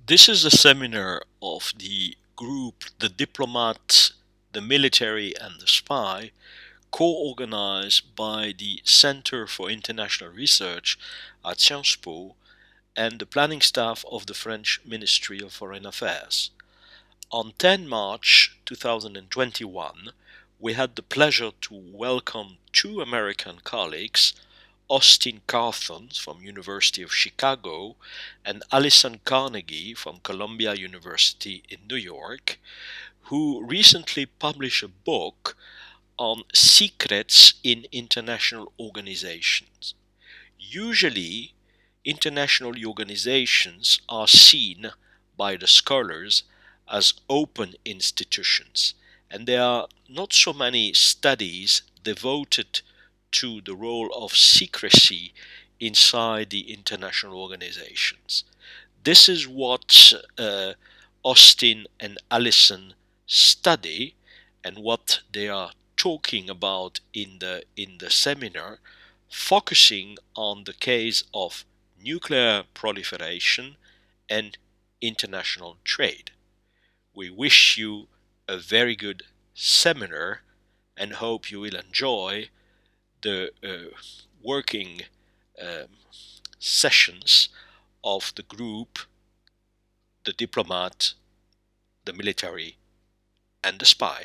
This is a seminar of the group The Diplomat, the Military, and the Spy, co-organized by the Center for International Research at Sciences Po and the planning staff of the French Ministry of Foreign Affairs. On 10 March 2021, we had the pleasure to welcome two American colleagues, Austin Carthon from University of Chicago and Alison Carnegie from Columbia University in New York, who recently published a book on secrets in international organizations. Usually, international organizations are seen by the scholars as open institutions, and there are not so many studies devoted to the role of secrecy inside the international organizations. This is what Austin and Alison study and what they are talking about in the seminar, focusing on the case of nuclear proliferation and international trade. We wish you a very good seminar and hope you will enjoy the working um, sessions of the group, the diplomat, the military, and the spy.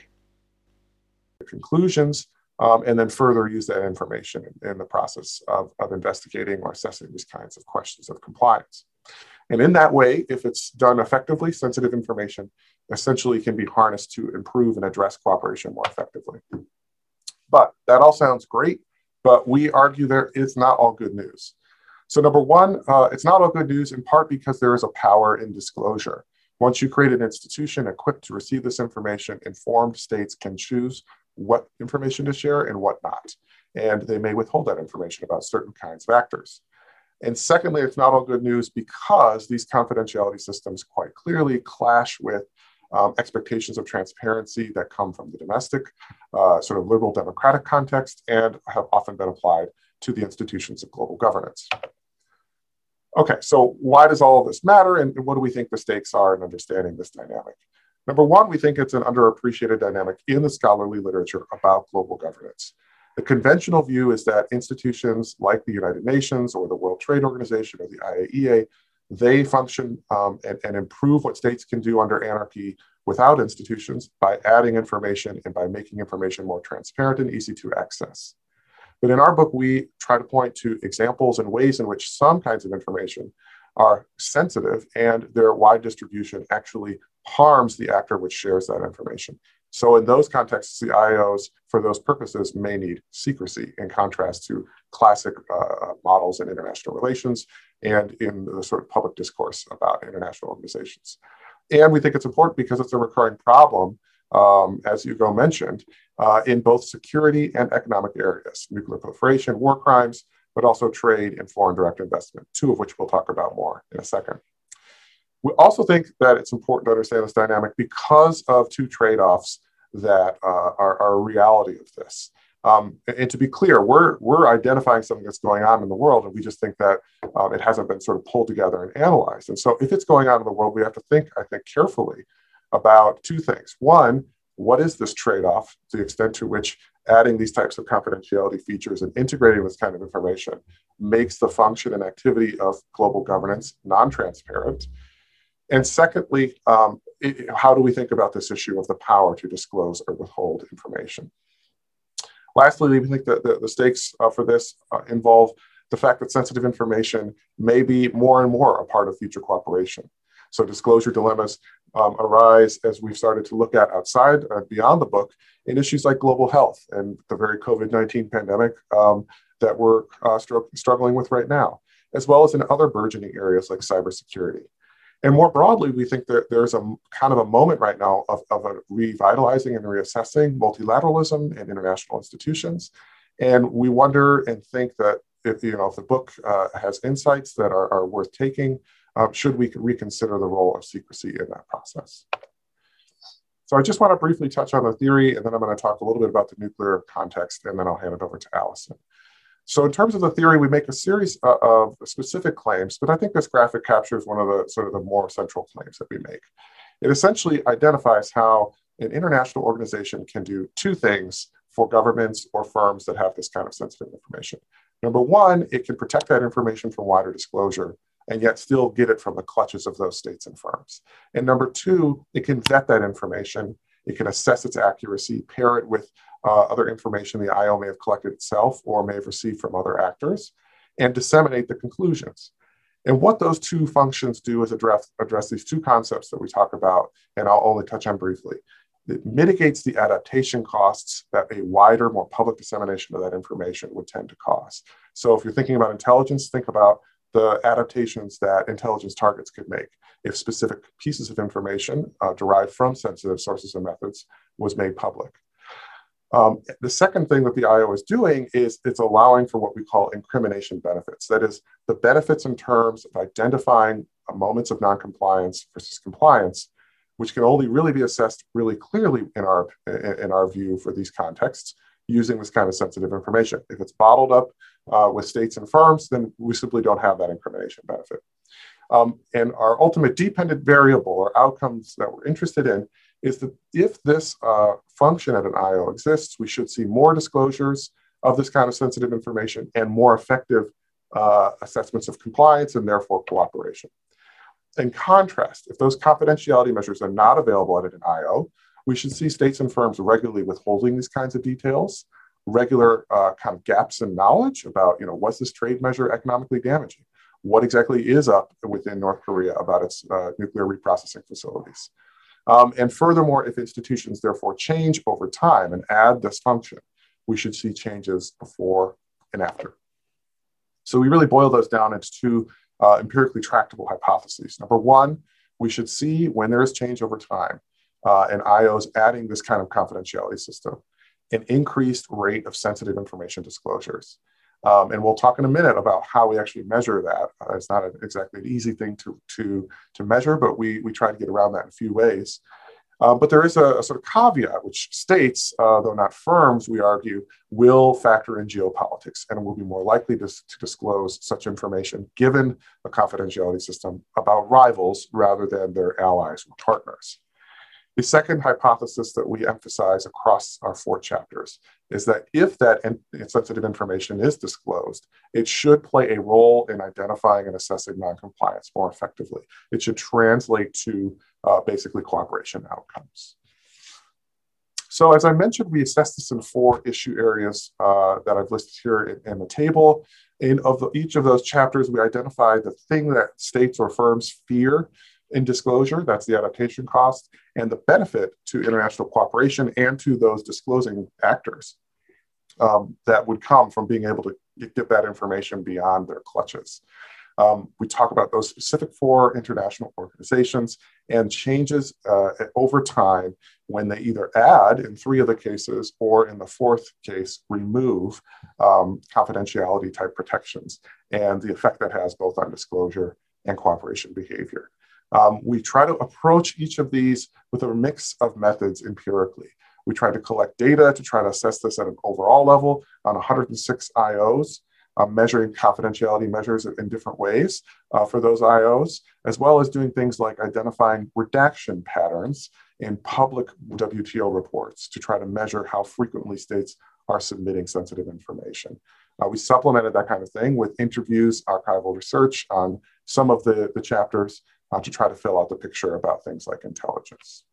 Conclusions, and then further use that information in the process of investigating or assessing these kinds of questions of compliance. And in that way, if it's done effectively, sensitive information essentially can be harnessed to improve and address cooperation more effectively. But that all sounds great, but we argue there is not all good news. So number one, it's not all good news in part because there is a power in disclosure. Once you create an institution equipped to receive this information, informed states can choose what information to share and what not. And they may withhold that information about certain kinds of actors. And secondly, it's not all good news because these confidentiality systems quite clearly clash with expectations of transparency that come from the domestic, sort of liberal democratic context and have often been applied to the institutions of global governance. Okay, so why does all of this matter and what do we think the stakes are in understanding this dynamic? Number one, we think it's an underappreciated dynamic in the scholarly literature about global governance. The conventional view is that institutions like the United Nations or the World Trade Organization or the IAEA, they function and improve what states can do under anarchy without institutions by adding information and by making information more transparent and easy to access. But in our book, we try to point to examples and ways in which some kinds of information are sensitive and their wide distribution actually harms the actor which shares that information. So in those contexts, the IOs, for those purposes, may need secrecy in contrast to classic models in international relations and in the sort of public discourse about international organizations. And we think it's important because it's a recurring problem, as Hugo mentioned, in both security and economic areas, nuclear proliferation, war crimes, but also trade and foreign direct investment, two of which we'll talk about more in a second. We also think that it's important to understand this dynamic because of two trade-offs that are a reality of this. And to be clear, we're identifying something that's going on in the world, and we just think that it hasn't been sort of pulled together and analyzed. And so if it's going on in the world, we have to think, I think, carefully about two things. One, what is this trade-off to the extent to which adding these types of confidentiality features and integrating this kind of information makes the function and activity of global governance non-transparent? And secondly, how do we think about this issue of the power to disclose or withhold information? Lastly, we think that the stakes for this involve the fact that sensitive information may be more and more a part of future cooperation. So disclosure dilemmas arise as we've started to look at outside, beyond the book, in issues like global health and the very COVID-19 pandemic that we're struggling with right now, as well as in other burgeoning areas like cybersecurity. And more broadly, we think that there's a kind of a moment right now of a revitalizing and reassessing multilateralism and international institutions. And we wonder and think that if the book has insights that are worth taking, should we reconsider the role of secrecy in that process? So I just want to briefly touch on the theory, and then I'm going to talk a little bit about the nuclear context, and then I'll hand it over to Alison. So in terms of the theory, we make a series of specific claims, but I think this graphic captures one of the sort of the more central claims that we make. It essentially identifies how an international organization can do two things for governments or firms that have this kind of sensitive information. Number one, it can protect that information from wider disclosure and yet still get it from the clutches of those states and firms. And number two, it can vet that information. It can assess its accuracy, pair it with other information the IO may have collected itself or may have received from other actors, and disseminate the conclusions. And what those two functions do is address these two concepts that we talk about, and I'll only touch on briefly. It mitigates the adaptation costs that a wider, more public dissemination of that information would tend to cause. So if you're thinking about intelligence, think about the adaptations that intelligence targets could make if specific pieces of information derived from sensitive sources and methods was made public. The second thing that the IO is doing is it's allowing for what we call incrimination benefits. That is, the benefits in terms of identifying moments of noncompliance versus compliance, which can only really be assessed really clearly in our view for these contexts using this kind of sensitive information. If it's bottled up with states and firms, then we simply don't have that incrimination benefit. And our ultimate dependent variable or outcomes that we're interested in is that if this function at an IO exists, we should see more disclosures of this kind of sensitive information and more effective assessments of compliance and therefore cooperation. In contrast, if those confidentiality measures are not available at an IO, we should see states and firms regularly withholding these kinds of details, regular kind of gaps in knowledge about, was this trade measure economically damaging? What exactly is up within North Korea about its nuclear reprocessing facilities? And furthermore, if institutions therefore change over time and add this function, we should see changes before and after. So we really boil those down into two empirically tractable hypotheses. Number one, we should see when there is change over time and IOs adding this kind of confidentiality system, an increased rate of sensitive information disclosures. And we'll talk in a minute about how we actually measure that. It's not exactly an easy thing to measure, but we try to get around that in a few ways. But there is a sort of caveat, which states, though not firms, we argue, will factor in geopolitics and will be more likely to disclose such information given a confidentiality system about rivals rather than their allies or partners. The second hypothesis that we emphasize across our 4 chapters is that if that sensitive information is disclosed, it should play a role in identifying and assessing noncompliance more effectively. It should translate to basically cooperation outcomes. So as I mentioned, we assess this in 4 issue areas that I've listed here in the table. In each of those chapters, we identify the thing that states or firms fear in disclosure, that's the adaptation cost, and the benefit to international cooperation and to those disclosing actors that would come from being able to get that information beyond their clutches. We talk about those specific 4 international organizations and changes over time when they either add in 3 of the cases or in the 4th case, remove confidentiality type protections and the effect that has both on disclosure and cooperation behavior. We try to approach each of these with a mix of methods empirically. We try to collect data to try to assess this at an overall level on 106 IOs, measuring confidentiality measures in different ways for those IOs, as well as doing things like identifying redaction patterns in public WTO reports to try to measure how frequently states are submitting sensitive information. We supplemented that kind of thing with interviews, archival research on some of the chapters to try to fill out the picture about things like intelligence.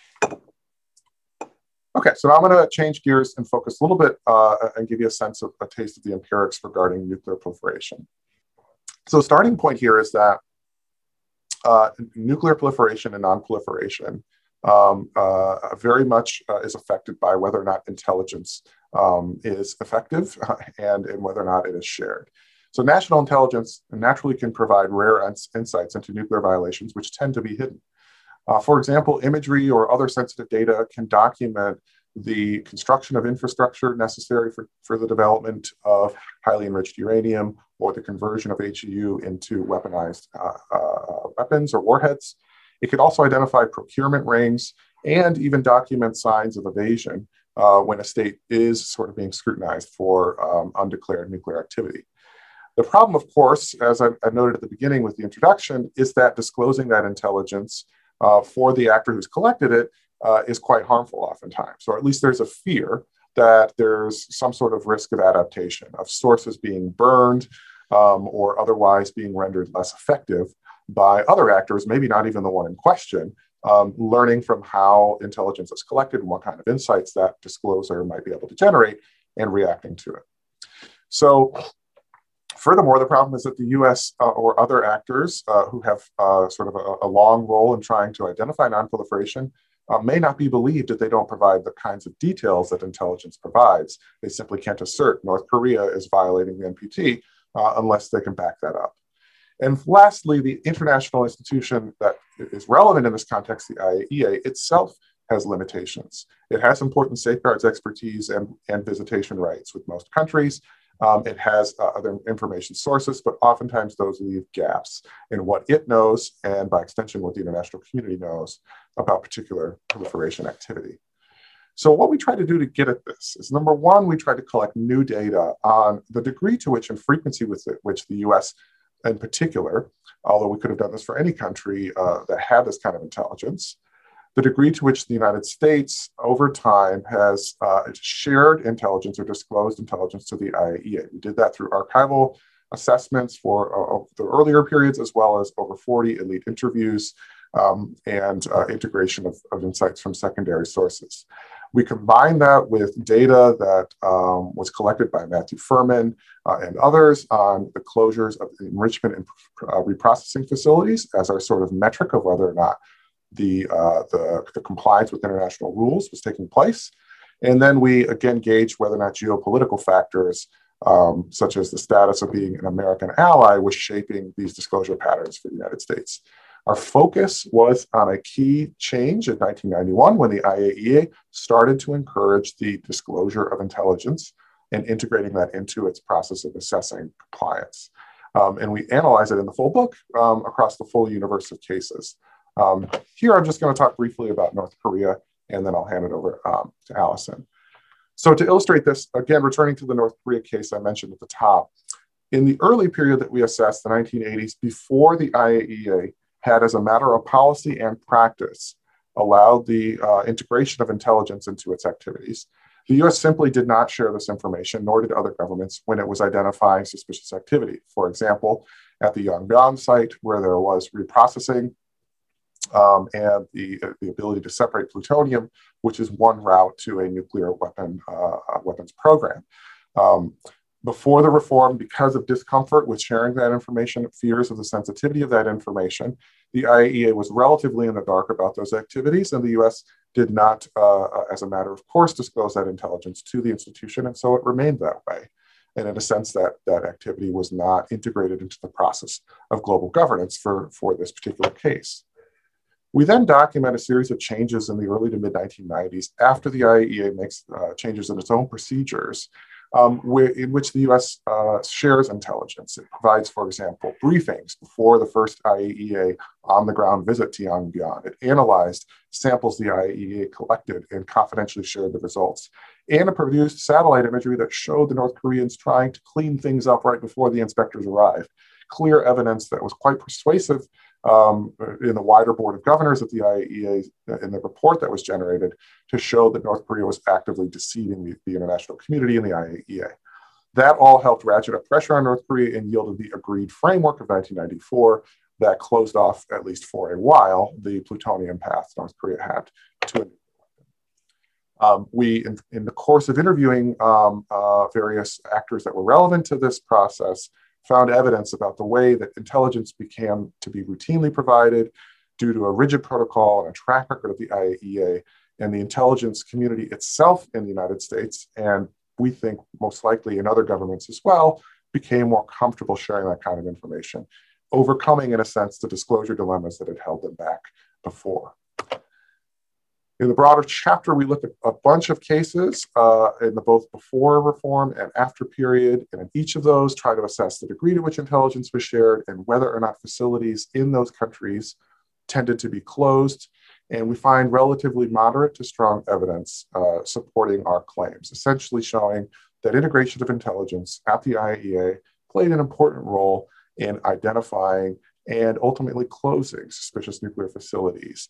Okay, so now I'm going to change gears and focus a little bit and give you a sense of a taste of the empirics regarding nuclear proliferation. So starting point here is that nuclear proliferation and non-proliferation very much is affected by whether or not intelligence is effective and whether or not it is shared. So national intelligence naturally can provide rare insights into nuclear violations, which tend to be hidden. For example, imagery or other sensitive data can document the construction of infrastructure necessary for the development of highly enriched uranium or the conversion of HEU into weaponized weapons or warheads. It could also identify procurement rings and even document signs of evasion when a state is sort of being scrutinized for undeclared nuclear activity. The problem, of course, as I noted at the beginning with the introduction, is that disclosing that intelligence for the actor who's collected it is quite harmful oftentimes, or at least there's a fear that there's some sort of risk of adaptation, of sources being burned or otherwise being rendered less effective by other actors, maybe not even the one in question, learning from how intelligence is collected and what kind of insights that disclosure might be able to generate and reacting to it. So furthermore, the problem is that the US or other actors who have sort of a long role in trying to identify nonproliferation may not be believed if they don't provide the kinds of details that intelligence provides. They simply can't assert North Korea is violating the NPT unless they can back that up. And lastly, the international institution that is relevant in this context, the IAEA itself, has limitations. It has important safeguards expertise and visitation rights with most countries. It has other information sources, but oftentimes those leave gaps in what it knows, and by extension, what the international community knows about particular proliferation activity. So what we try to do to get at this is, number one, we try to collect new data on the degree to which and frequency with which the US in particular, although we could have done this for any country that had this kind of intelligence, the degree to which the United States over time has shared intelligence or disclosed intelligence to the IAEA. We did that through archival assessments for the earlier periods, as well as over 40 elite interviews and integration of insights from secondary sources. We combined that with data that was collected by Matthew Furman and others on the closures of enrichment and reprocessing facilities as our sort of metric of whether or not the compliance with international rules was taking place. And then we again gauged whether or not geopolitical factors, such as the status of being an American ally, was shaping these disclosure patterns for the United States. Our focus was on a key change in 1991 when the IAEA started to encourage the disclosure of intelligence and integrating that into its process of assessing compliance. And we analyze it in the full book across the full universe of cases. Here, I'm just going to talk briefly about North Korea, and then I'll hand it over to Allison. So to illustrate this, again, returning to the North Korea case I mentioned at the top, in the early period that we assessed, the 1980s, before the IAEA had, as a matter of policy and practice, allowed the integration of intelligence into its activities, the US simply did not share this information, nor did other governments, when it was identifying suspicious activity. For example, at the Yongbyon site, where there was reprocessing and the ability to separate plutonium, which is one route to a nuclear weapons program. Before the reform, because of discomfort with sharing that information, fears of the sensitivity of that information, the IAEA was relatively in the dark about those activities, and the US did not, as a matter of course, disclose that intelligence to the institution, and so it remained that way. And in a sense, that activity was not integrated into the process of global governance for this particular case. We then document a series of changes in the early to mid 1990s after the IAEA makes changes in its own procedures, in which the US shares intelligence. It provides, for example, briefings before the first IAEA on-the-ground visit to Yongbyon. It analyzed samples the IAEA collected and confidentially shared the results. And it produced satellite imagery that showed the North Koreans trying to clean things up right before the inspectors arrived. Clear evidence that was quite persuasive in the wider board of governors at the IAEA in the report that was generated to show that North Korea was actively deceiving the international community and the IAEA. That all helped ratchet up pressure on North Korea and yielded the agreed framework of 1994 that closed off, at least for a while, the plutonium path North Korea had to a nuclear weapon. We, in the course of interviewing various actors that were relevant to this process, found evidence about the way that intelligence began to be routinely provided due to a rigid protocol and a track record of the IAEA and the intelligence community itself in the United States, and we think most likely in other governments as well, became more comfortable sharing that kind of information, overcoming, in a sense, the disclosure dilemmas that had held them back before. In the broader chapter, we look at a bunch of cases in the both before reform and after period, and in each of those try to assess the degree to which intelligence was shared and whether or not facilities in those countries tended to be closed. And we find relatively moderate to strong evidence supporting our claims, essentially showing that integration of intelligence at the IAEA played an important role in identifying and ultimately closing suspicious nuclear facilities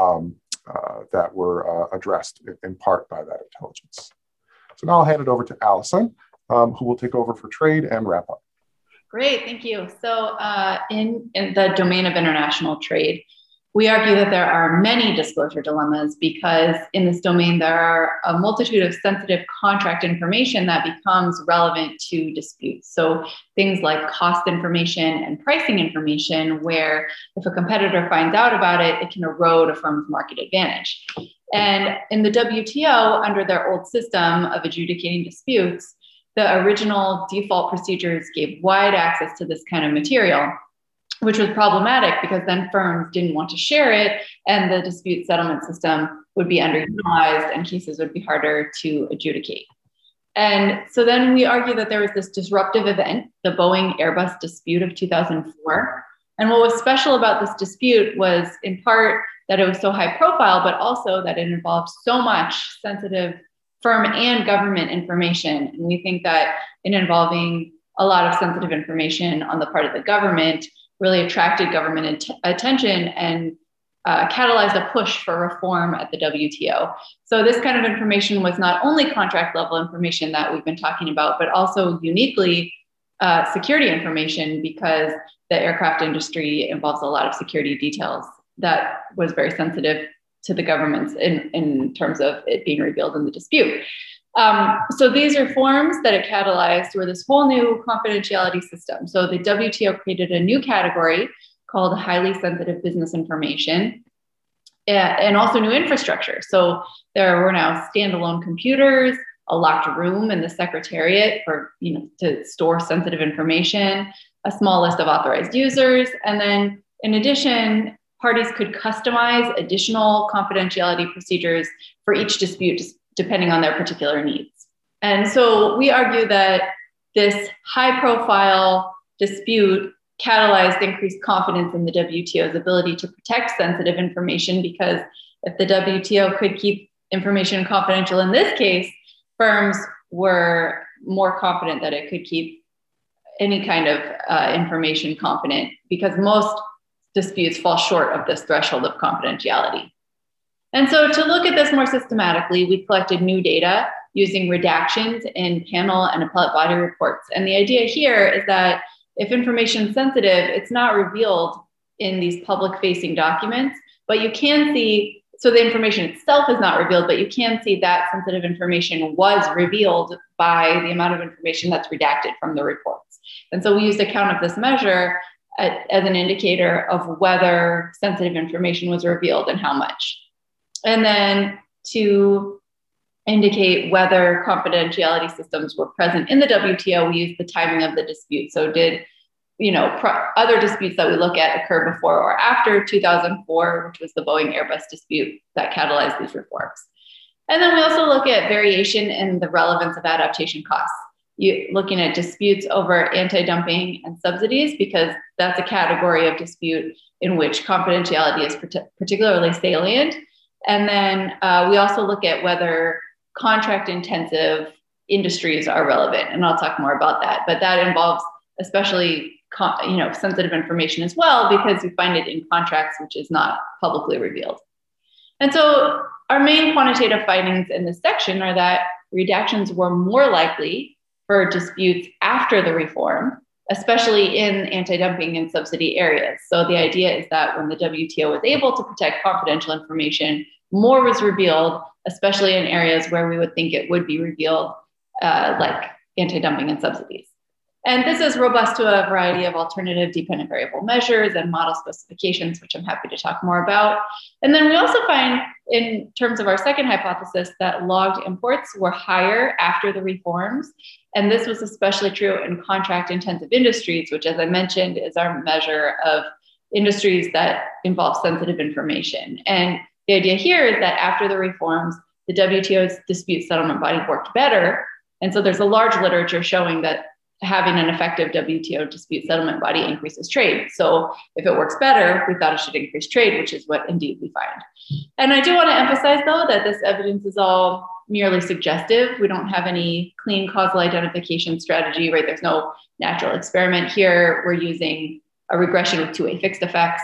that were addressed in part by that intelligence. So now I'll hand it over to Allison, who will take over for trade and wrap up. Great, thank you. So in the domain of international trade, we argue that there are many disclosure dilemmas because in this domain, there are a multitude of sensitive contract information that becomes relevant to disputes. So things like cost information and pricing information, where if a competitor finds out about it, it can erode a firm's market advantage. And in the WTO, under their old system of adjudicating disputes, the original default procedures gave wide access to this kind of material, which was problematic because then firms didn't want to share it and the dispute settlement system would be underutilized and cases would be harder to adjudicate. And so then we argue that there was this disruptive event, the Boeing Airbus dispute of 2004. And what was special about this dispute was in part that it was so high profile, but also that it involved so much sensitive firm and government information. And we think that in involving a lot of sensitive information on the part of the government, really attracted government attention and catalyzed a push for reform at the WTO. So this kind of information was not only contract level information that we've been talking about, but also uniquely security information because the aircraft industry involves a lot of security details that was very sensitive to the governments in terms of it being revealed in the dispute. So these reforms that it catalyzed were this whole new confidentiality system. So the WTO created a new category called highly sensitive business information and also new infrastructure. So there were now standalone computers, a locked room in the secretariat for, to store sensitive information, a small list of authorized users. And then in addition, parties could customize additional confidentiality procedures for each dispute depending on their particular needs. And so we argue that this high profile dispute catalyzed increased confidence in the WTO's ability to protect sensitive information because if the WTO could keep information confidential in this case, firms were more confident that it could keep any kind of information confident because most disputes fall short of this threshold of confidentiality. And so to look at this more systematically, we collected new data using redactions in panel and appellate body reports. And the idea here is that if information is sensitive, it's not revealed in these public facing documents, but you can see, so the information itself is not revealed, but you can see that sensitive information was revealed by the amount of information that's redacted from the reports. And so we used a count of this measure as an indicator of whether sensitive information was revealed and how much. And then to indicate whether confidentiality systems were present in the WTO, we used the timing of the dispute. So did, other disputes that we look at occur before or after 2004, which was the Boeing Airbus dispute that catalyzed these reforms. And then we also look at variation in the relevance of adaptation costs. Looking at disputes over anti-dumping and subsidies, because that's a category of dispute in which confidentiality is particularly salient. And then we also look at whether contract intensive industries are relevant. And I'll talk more about that, but that involves especially sensitive information as well, because we find it in contracts, which is not publicly revealed. And so our main quantitative findings in this section are that redactions were more likely for disputes after the reform, especially in anti-dumping and subsidy areas. So the idea is that when the WTO was able to protect confidential information, more was revealed, especially in areas where we would think it would be revealed, like anti-dumping and subsidies. And this is robust to a variety of alternative dependent variable measures and model specifications, which I'm happy to talk more about. And then we also find, in terms of our second hypothesis, that logged imports were higher after the reforms. And this was especially true in contract intensive industries, which, as I mentioned, is our measure of industries that involve sensitive information. And the idea here is that after the reforms, the WTO's dispute settlement body worked better. And so there's a large literature showing that having an effective WTO dispute settlement body increases trade. So if it works better, we thought it should increase trade, which is what indeed we find. And I do want to emphasize, though, that this evidence is all merely suggestive. We don't have any clean causal identification strategy, right? There's no natural experiment here. We're using a regression with two-way fixed effects.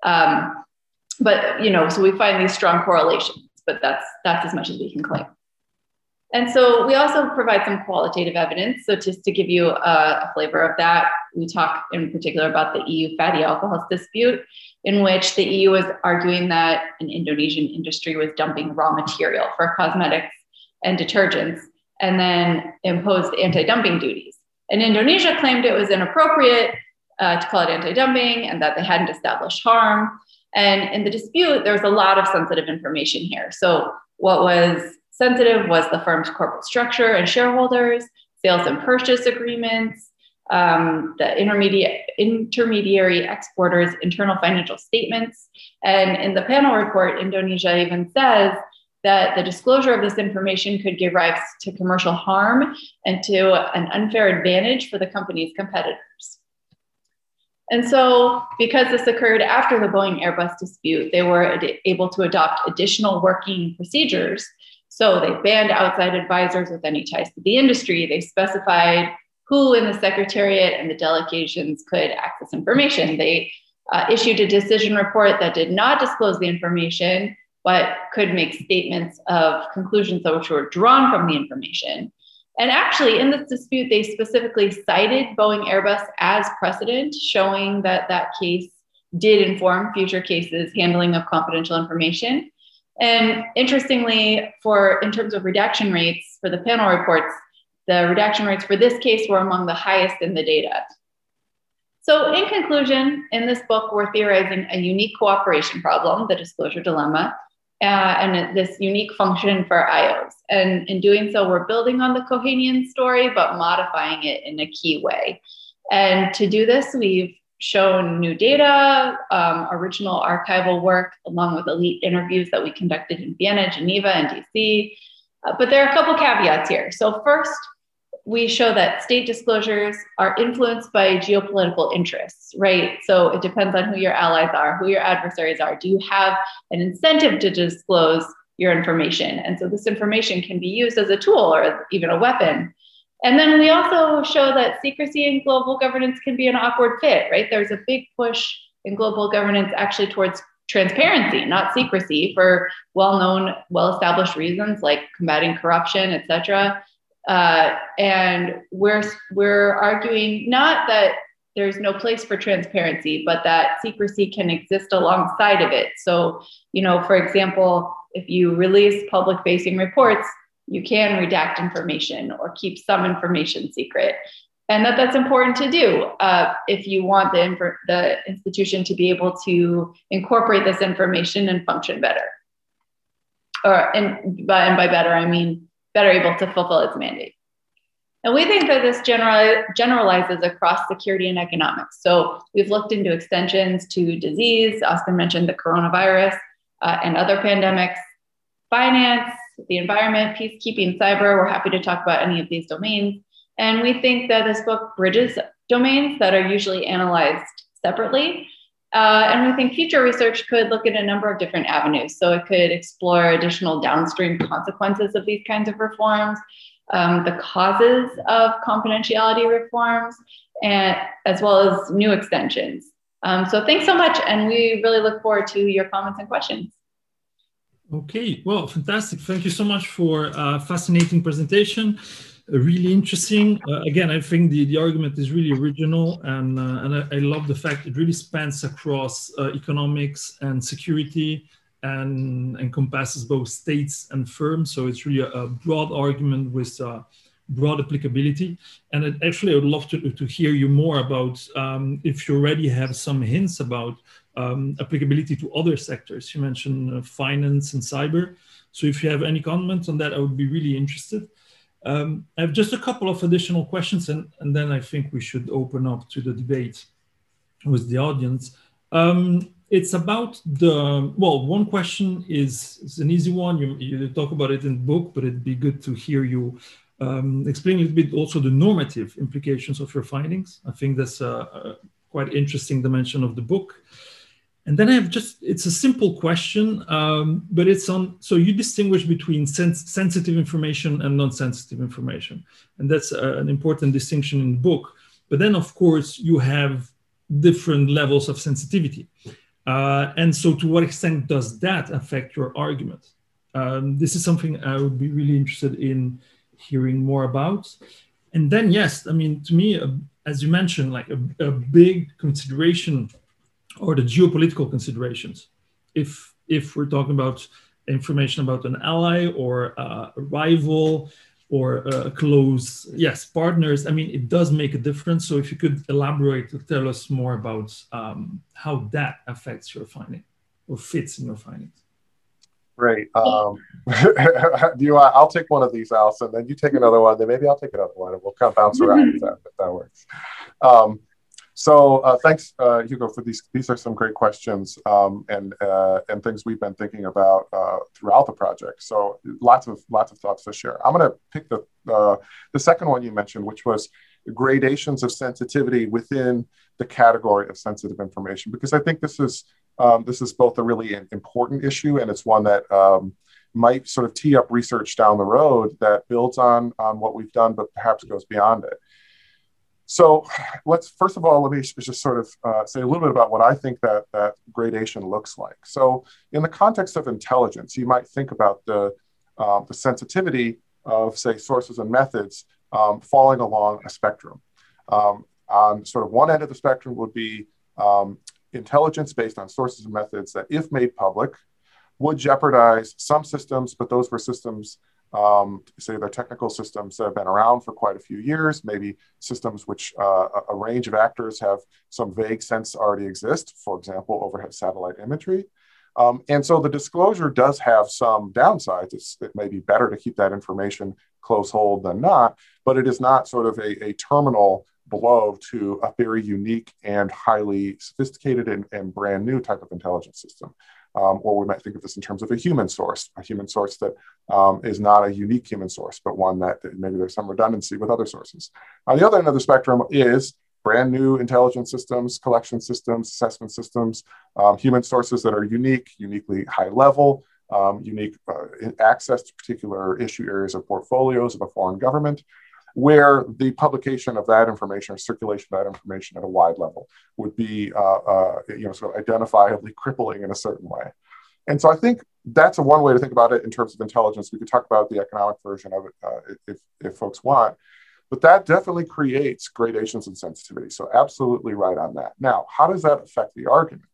But, so we find these strong correlations, but that's as much as we can claim. And so we also provide some qualitative evidence. So just to give you a flavor of that, we talk in particular about the EU fatty alcohols dispute, in which the EU was arguing that an Indonesian industry was dumping raw material for cosmetics and detergents and then imposed anti-dumping duties. And Indonesia claimed it was inappropriate to call it anti-dumping and that they hadn't established harm. And in the dispute, there was a lot of sensitive information here. So what was sensitive was the firm's corporate structure and shareholders, sales and purchase agreements, the intermediary exporters' internal financial statements. And in the panel report, Indonesia even says that the disclosure of this information could give rise to commercial harm and to an unfair advantage for the company's competitors. And so because this occurred after the Boeing Airbus dispute, they were able to adopt additional working procedures. So they banned outside advisors with any ties to the industry. They specified who in the secretariat and the delegations could access information. They issued a decision report that did not disclose the information, but could make statements of conclusions which were drawn from the information. And actually, in this dispute, they specifically cited Boeing Airbus as precedent, showing that that case did inform future cases handling of confidential information. And interestingly, in terms of redaction rates for the panel reports, the redaction rates for this case were among the highest in the data. So in conclusion, in this book, we're theorizing a unique cooperation problem, the disclosure dilemma, and this unique function for IOs. And in doing so, we're building on the Kohanian story, but modifying it in a key way. And to do this, we've shown new data, original archival work, along with elite interviews that we conducted in Vienna, Geneva, and DC. But there are a couple caveats here. So first, we show that state disclosures are influenced by geopolitical interests, right? So it depends on who your allies are, who your adversaries are. Do you have an incentive to disclose your information? And so this information can be used as a tool or even a weapon. And then we also show that secrecy in global governance can be an awkward fit, right? There's a big push in global governance actually towards transparency, not secrecy, for well-known, well-established reasons like combating corruption, et cetera. And we're arguing not that there's no place for transparency, but that secrecy can exist alongside of it. So, for example, if you release public-facing reports, you can redact information or keep some information secret. And that's important to do if you want the institution to be able to incorporate this information and function better. And by better, I mean better able to fulfill its mandate. And we think that this generalizes across security and economics. So we've looked into extensions to disease. Oscar mentioned the coronavirus and other pandemics, finance, the environment, peacekeeping, cyber. We're happy to talk about any of these domains. And we think that this book bridges domains that are usually analyzed separately. And we think future research could look at a number of different avenues. So it could explore additional downstream consequences of these kinds of reforms, the causes of confidentiality reforms, and as well as new extensions. So thanks so much. And we really look forward to your comments and questions. Okay, well, fantastic. Thank you so much for a fascinating presentation. Really interesting. Again, I think the argument is really original, and I love the fact it really spans across economics and security and encompasses both states and firms. So it's really a broad argument with broad applicability. And I would love to hear you more about if you already have some hints about applicability to other sectors. You mentioned finance and cyber. So if you have any comments on that, I would be really interested. I have just a couple of additional questions, and then I think we should open up to the debate with the audience. It's about one question is an easy one. You talk about it in the book, but it'd be good to hear you explain a little bit also the normative implications of your findings. I think that's a quite interesting dimension of the book. And then I have it's a simple question, but it's on, so you distinguish between sensitive information and non-sensitive information. And that's an important distinction in the book. But then, of course, you have different levels of sensitivity. And so to what extent does that affect your argument? This is something I would be really interested in hearing more about. And then, yes, I mean, to me, as you mentioned, like a big consideration, or the geopolitical considerations. If we're talking about information about an ally or a rival or a close, partners, I mean, it does make a difference. So if you could elaborate to tell us more about how that affects your finding or fits in your findings. Great. I'll take one of these, Alison, then you take another one, then maybe I'll take another one, and we'll kind of bounce around if that works. So thanks, Hugo, for these. These are some great questions and things we've been thinking about throughout the project. So lots of thoughts to share. I'm going to pick the second one you mentioned, which was gradations of sensitivity within the category of sensitive information, because I think this is both a really important issue, and it's one that might sort of tee up research down the road that builds on what we've done, but perhaps goes beyond it. So first of all, let me just sort of say a little bit about what I think that gradation looks like. So in the context of intelligence, you might think about the sensitivity of, say, sources and methods falling along a spectrum. On sort of one end of the spectrum would be intelligence based on sources and methods that, if made public, would jeopardize some systems, but those were systems, say they're technical systems that have been around for quite a few years, maybe systems which a range of actors have some vague sense already exist, for example, overhead satellite imagery. And so the disclosure does have some downsides. It may be better to keep that information close hold than not, but it is not sort of a terminal blow to a very unique and highly sophisticated and brand new type of intelligence system. Or we might think of this in terms of a human source that is not a unique human source, but one that maybe there's some redundancy with other sources. On the other end of the spectrum is brand new intelligence systems, collection systems, assessment systems, human sources that are uniquely high level, unique access to particular issue areas or portfolios of a foreign government, where the publication of that information or circulation of that information at a wide level would be sort of identifiably crippling in a certain way. And so I think that's one way to think about it in terms of intelligence. We could talk about the economic version of it if folks want, but that definitely creates gradations in sensitivity. So absolutely right on that. Now, how does that affect the argument?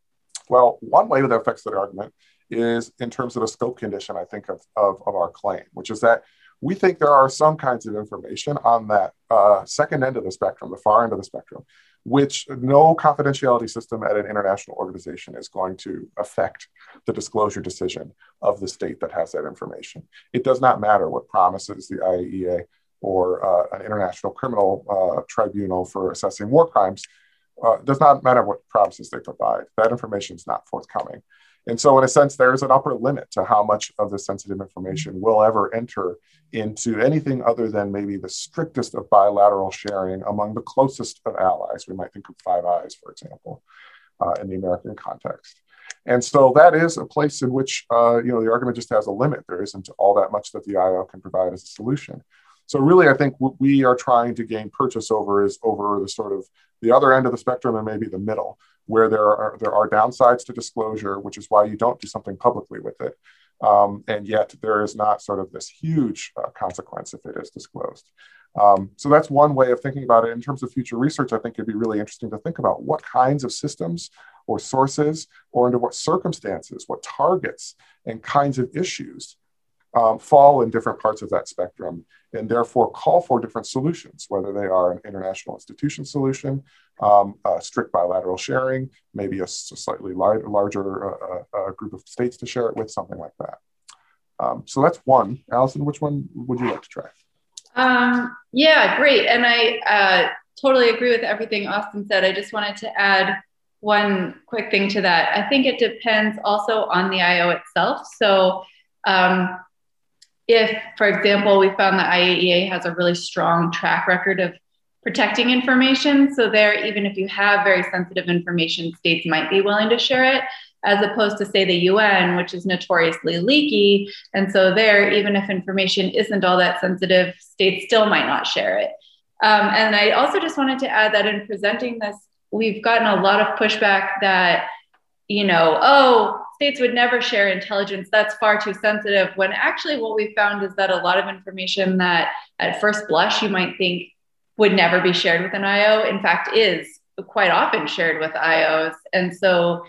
Well, one way that affects the argument is in terms of a scope condition, I think, of our claim, which is that we think there are some kinds of information on that second end of the spectrum, the far end of the spectrum, which no confidentiality system at an international organization is going to affect the disclosure decision of the state that has that information. It does not matter what promises the IAEA or an international criminal tribunal for assessing war crimes. It does not matter what promises they provide. That information is not forthcoming. And so in a sense, there's an upper limit to how much of the sensitive information will ever enter into anything other than maybe the strictest of bilateral sharing among the closest of allies. We might think of Five Eyes, for example, in the American context. And so that is a place in which the argument just has a limit. There isn't all that much that the IO can provide as a solution. So really, I think what we are trying to gain purchase over is over the sort of the other end of the spectrum and maybe the middle, where there are downsides to disclosure, which is why you don't do something publicly with it. And yet there is not sort of this huge consequence if it is disclosed. So that's one way of thinking about it. In terms of future research, I think it'd be really interesting to think about what kinds of systems or sources or under what circumstances, what targets and kinds of issues fall in different parts of that spectrum and therefore call for different solutions, whether they are an international institution solution, strict bilateral sharing, maybe a slightly larger group of states to share it with, something like that. So that's one. Alison, which one would you like to try? Yeah, great. And I totally agree with everything Austin said. I just wanted to add one quick thing to that. I think it depends also on the IO itself. So if, for example, we found that IAEA has a really strong track record of protecting information. So there, even if you have very sensitive information, states might be willing to share it, as opposed to, say, the UN, which is notoriously leaky. And so there, even if information isn't all that sensitive, states still might not share it. And I also just wanted to add that in presenting this, we've gotten a lot of pushback that, oh, states would never share intelligence, that's far too sensitive, when actually what we found is that a lot of information that at first blush you might think would never be shared with an IO, in fact, is quite often shared with IOs. And so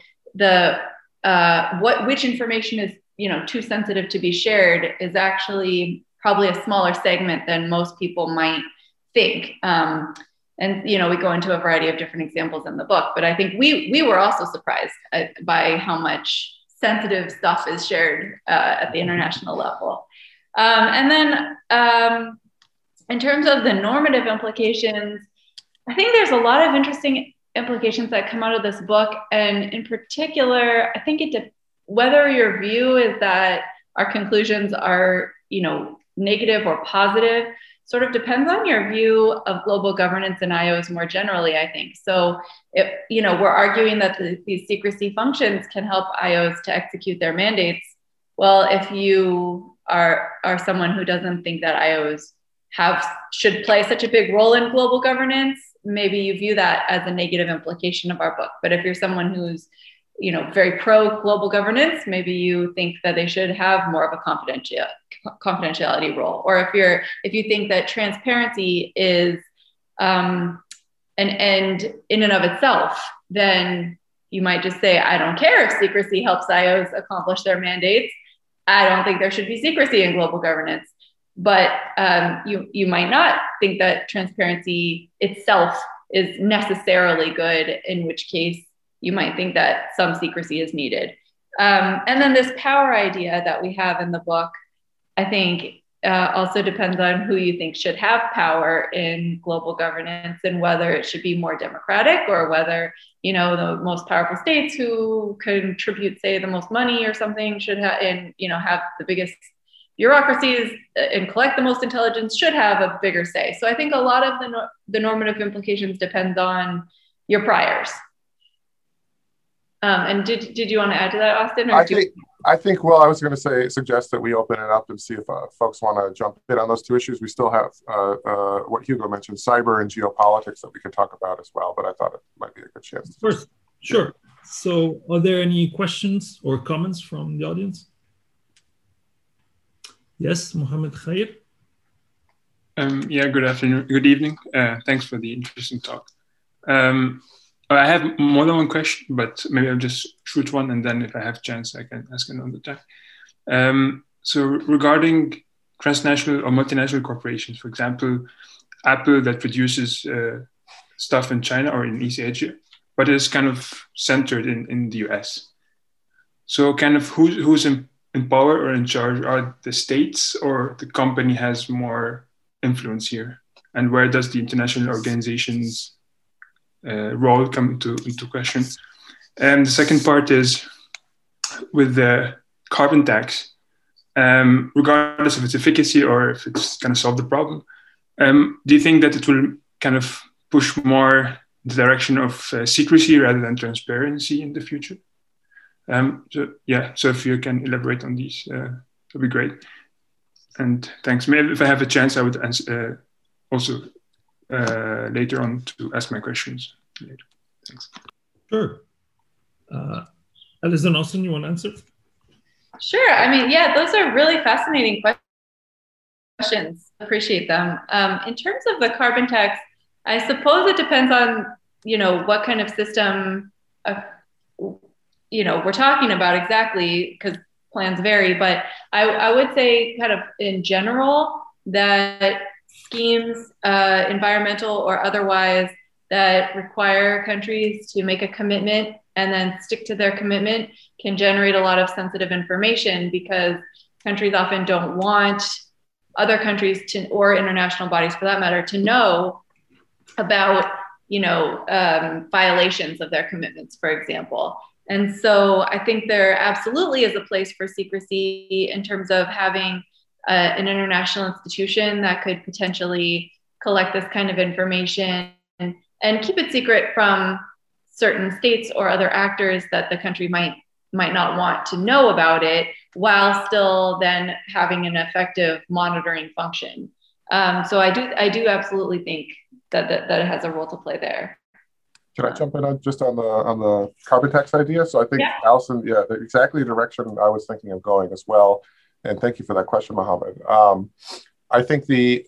which information is too sensitive to be shared is actually probably a smaller segment than most people might think. And we go into a variety of different examples in the book, but I think we were also surprised by how much sensitive stuff is shared at the international level. And then in terms of the normative implications, I think there's a lot of interesting implications that come out of this book. And in particular, I think whether your view is that our conclusions are, negative or positive, sort of depends on your view of global governance and IOs more generally, I think. So, we're arguing that these secrecy functions can help IOs to execute their mandates. Well, if you are someone who doesn't think that IOs should play such a big role in global governance, maybe you view that as a negative implication of our book. But if you're someone who's, very pro global governance, maybe you think that they should have more of a confidentiality role. Or if you think that transparency is an end in and of itself, then you might just say, I don't care if secrecy helps IOs accomplish their mandates. I don't think there should be secrecy in global governance. But you might not think that transparency itself is necessarily good, in which case you might think that some secrecy is needed. And then this power idea that we have in the book, I think also depends on who you think should have power in global governance, and whether it should be more democratic, or whether, the most powerful states who contribute, say, the most money or something should have, and, have the biggest bureaucracies and collect the most intelligence should have a bigger say. So I think a lot of the normative implications depends on your priors. And did you want to add to that, Austin? I think, well, I was going to suggest that we open it up and see if folks want to jump in on those two issues. We still have what Hugo mentioned, cyber and geopolitics, that we could talk about as well, but I thought it might be a good chance. Of course, sure. So are there any questions or comments from the audience? Yes, Mohammed Khair. Good afternoon, good evening. Thanks for the interesting talk. I have more than one question, but maybe I'll just shoot one, and then if I have a chance, I can ask another time. So regarding transnational or multinational corporations, for example, Apple, that produces stuff in China or in East Asia, but is kind of centered in the US. So kind of who's in power or in charge? Are the states, or the company has more influence here? And where does the international organization's role come into question? And the second part is with the carbon tax, regardless of its efficacy or if it's going to solve the problem, do you think that it will kind of push more the direction of secrecy rather than transparency in the future? So if you can elaborate on these, that'd be great. And thanks. Maybe if I have a chance, I would answer, also later on to ask my questions later. Thanks. Sure. Alison, Austin, you want to answer? Sure. I mean, yeah, those are really fascinating questions. Appreciate them. In terms of the carbon tax, I suppose it depends on, what kind of system, we're talking about exactly, because plans vary. But I would say kind of in general that schemes, environmental or otherwise, that require countries to make a commitment and then stick to their commitment can generate a lot of sensitive information, because countries often don't want other countries to, or international bodies for that matter, to know about, violations of their commitments, for example. And so I think there absolutely is a place for secrecy in terms of having an international institution that could potentially collect this kind of information and keep it secret from certain states or other actors that the country might not want to know about it, while still then having an effective monitoring function. So I do absolutely think that it has a role to play there. Can I jump in on the carbon tax idea? So I think, yeah. Allison, yeah, exactly the direction I was thinking of going as well. And thank you for that question, Mohammed. I think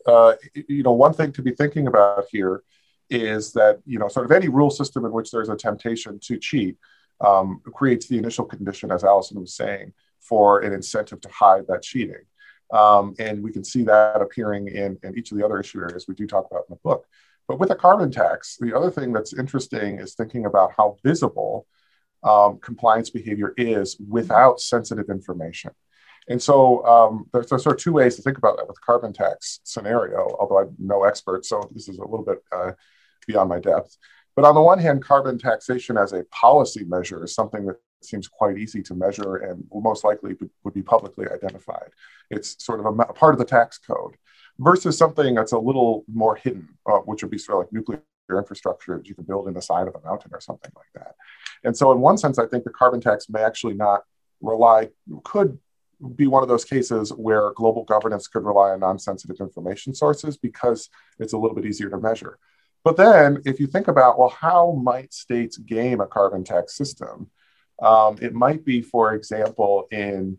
one thing to be thinking about here is that, sort of any rule system in which there's a temptation to cheat creates the initial condition, as Allison was saying, for an incentive to hide that cheating. And we can see that appearing in each of the other issue areas we do talk about in the book. But with a carbon tax, the other thing that's interesting is thinking about how visible compliance behavior is without sensitive information. And so there's sort of two ways to think about that with carbon tax scenario, although I'm no expert, so this is a little bit beyond my depth. But on the one hand, carbon taxation as a policy measure is something that seems quite easy to measure and most likely would be publicly identified. It's sort of a part of the tax code versus something that's a little more hidden, which would be sort of like nuclear infrastructure that you can build in the side of a mountain or something like that. And so in one sense, I think the carbon tax may actually not could be one of those cases where global governance could rely on non-sensitive information sources because it's a little bit easier to measure. But then if you think about, well, how might states game a carbon tax system? It might be, for example, in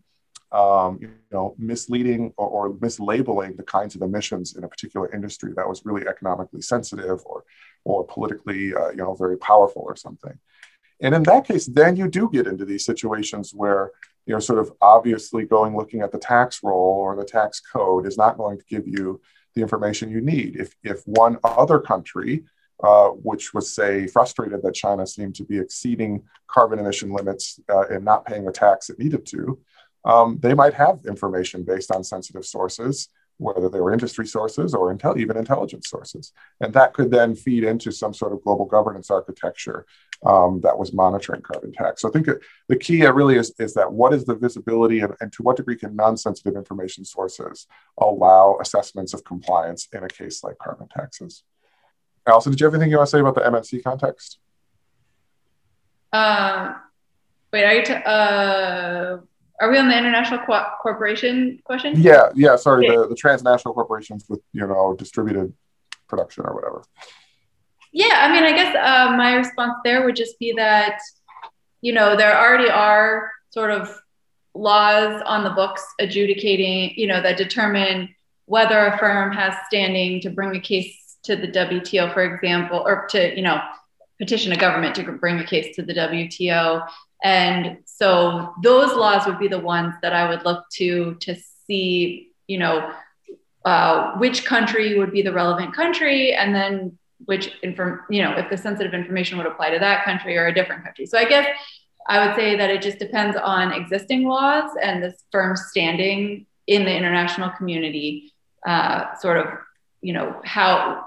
misleading or mislabeling the kinds of emissions in a particular industry that was really economically sensitive or politically very powerful or something. And in that case, then you do get into these situations where sort of obviously looking at the tax roll or the tax code is not going to give you the information you need. If one other country, which was, say, frustrated that China seemed to be exceeding carbon emission limits and not paying the tax it needed to, they might have information based on sensitive sources, whether they were industry sources or even intelligence sources. And that could then feed into some sort of global governance architecture that was monitoring carbon tax. So I think the key really is that what is the visibility and to what degree can non-sensitive information sources allow assessments of compliance in a case like carbon taxes? Allison, did you have anything you want to say about the MNC context? Are we on the international corporation question? Yeah. Sorry, okay. the transnational corporations with distributed production or whatever. Yeah, I mean, I guess my response there would just be that there already are sort of laws on the books adjudicating, that determine whether a firm has standing to bring a case to the WTO, for example, or to petition a government to bring a case to the WTO. And so those laws would be the ones that I would look to see, which country would be the relevant country, and then if the sensitive information would apply to that country or a different country. So I guess I would say that it just depends on existing laws and this firm's standing in the international community, sort of, how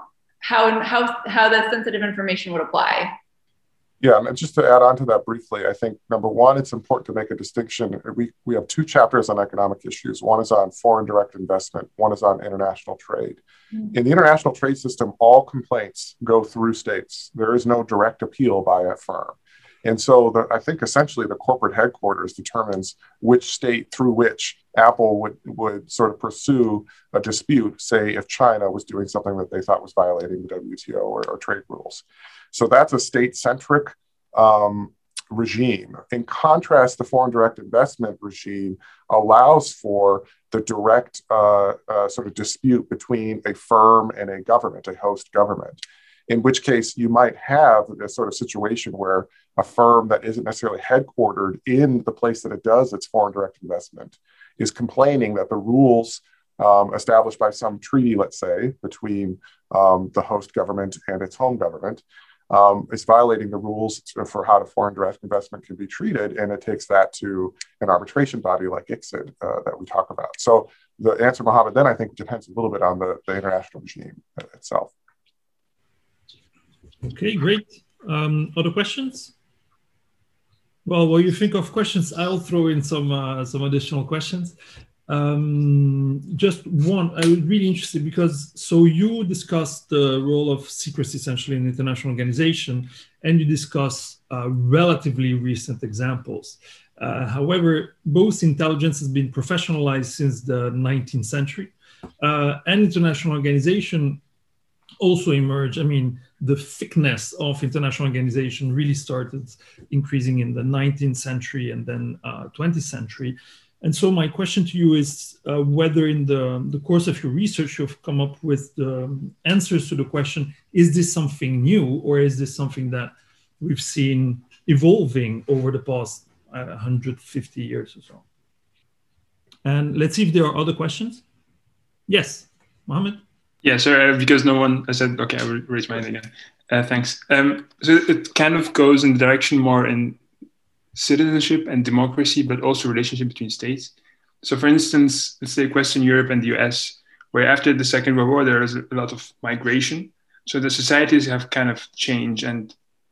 the sensitive information would apply. Yeah, and just to add on to that briefly, I think, number one, it's important to make a distinction. We have two chapters on economic issues. One is on foreign direct investment. One is on international trade. Mm-hmm. In the international trade system, all complaints go through states. There is no direct appeal by a firm. And so I think essentially the corporate headquarters determines which state through which Apple would sort of pursue a dispute, say if China was doing something that they thought was violating the WTO or trade rules. So that's a state-centric regime. In contrast, the foreign direct investment regime allows for the direct sort of dispute between a firm and a government, a host government, in which case you might have a sort of situation where a firm that isn't necessarily headquartered in the place that it does its foreign direct investment is complaining that the rules established by some treaty, let's say, between the host government and its home government is violating the rules for how the foreign direct investment can be treated, and it takes that to an arbitration body like ICSID that we talk about. So the answer, Mohammed, then I think depends a little bit on the international regime itself. Okay, great. Other questions? Well, while you think of questions, I'll throw in some additional questions. Just one, I was really interested because, so you discussed the role of secrecy essentially in international organization, and you discuss relatively recent examples. However, both intelligence has been professionalized since the 19th century, and international organization also emerged. I mean, the thickness of international organization really started increasing in the 19th century and then 20th century. And so my question to you is whether in the course of your research, you've come up with the answers to the question, is this something new, or is this something that we've seen evolving over the past 150 years or so? And let's see if there are other questions. Yes, Mohammed? Yeah, so because no one, I said, okay, I will raise my hand again. Thanks. So it kind of goes in the direction more in citizenship and democracy, but also relationship between states. So for instance, let's say Western Europe and the US, where after the Second World War, there was a lot of migration. So the societies have kind of changed. And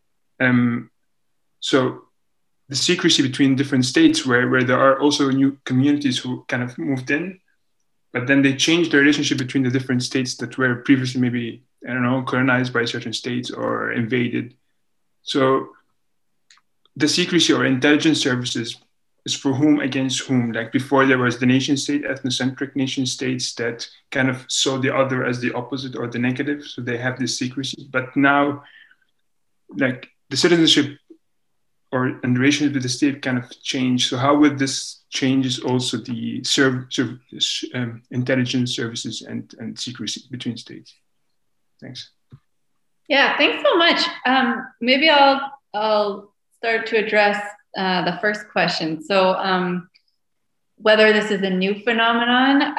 so the secrecy between different states where there are also new communities who kind of moved in, but then they changed the relationship between the different states that were previously maybe, I don't know, colonized by certain states or invaded. So the secrecy or intelligence services is for whom against whom. Like before, there was the nation state, ethnocentric nation states that kind of saw the other as the opposite or the negative. So they have this secrecy. But now, like the citizenship and the relationship with the state kind of change. So how would this changes also the intelligence services and secrecy between states? Thanks. Yeah, thanks so much. Maybe I'll start to address the first question. So whether this is a new phenomenon,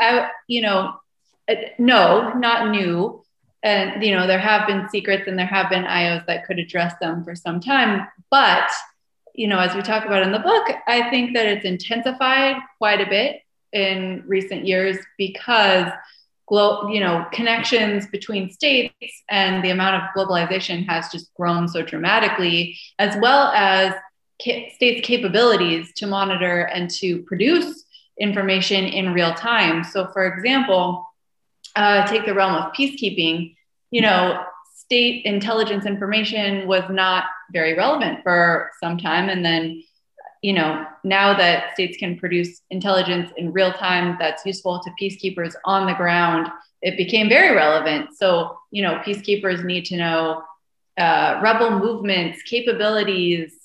no, not new. And, there have been secrets and there have been IOs that could address them for some time. But, as we talk about in the book, I think that it's intensified quite a bit in recent years because connections between states and the amount of globalization has just grown so dramatically, as well as states' capabilities to monitor and to produce information in real time. So, for example, take the realm of peacekeeping, state intelligence information was not very relevant for some time. And then, now that states can produce intelligence in real time that's useful to peacekeepers on the ground, it became very relevant. So, peacekeepers need to know rebel movements, capabilities,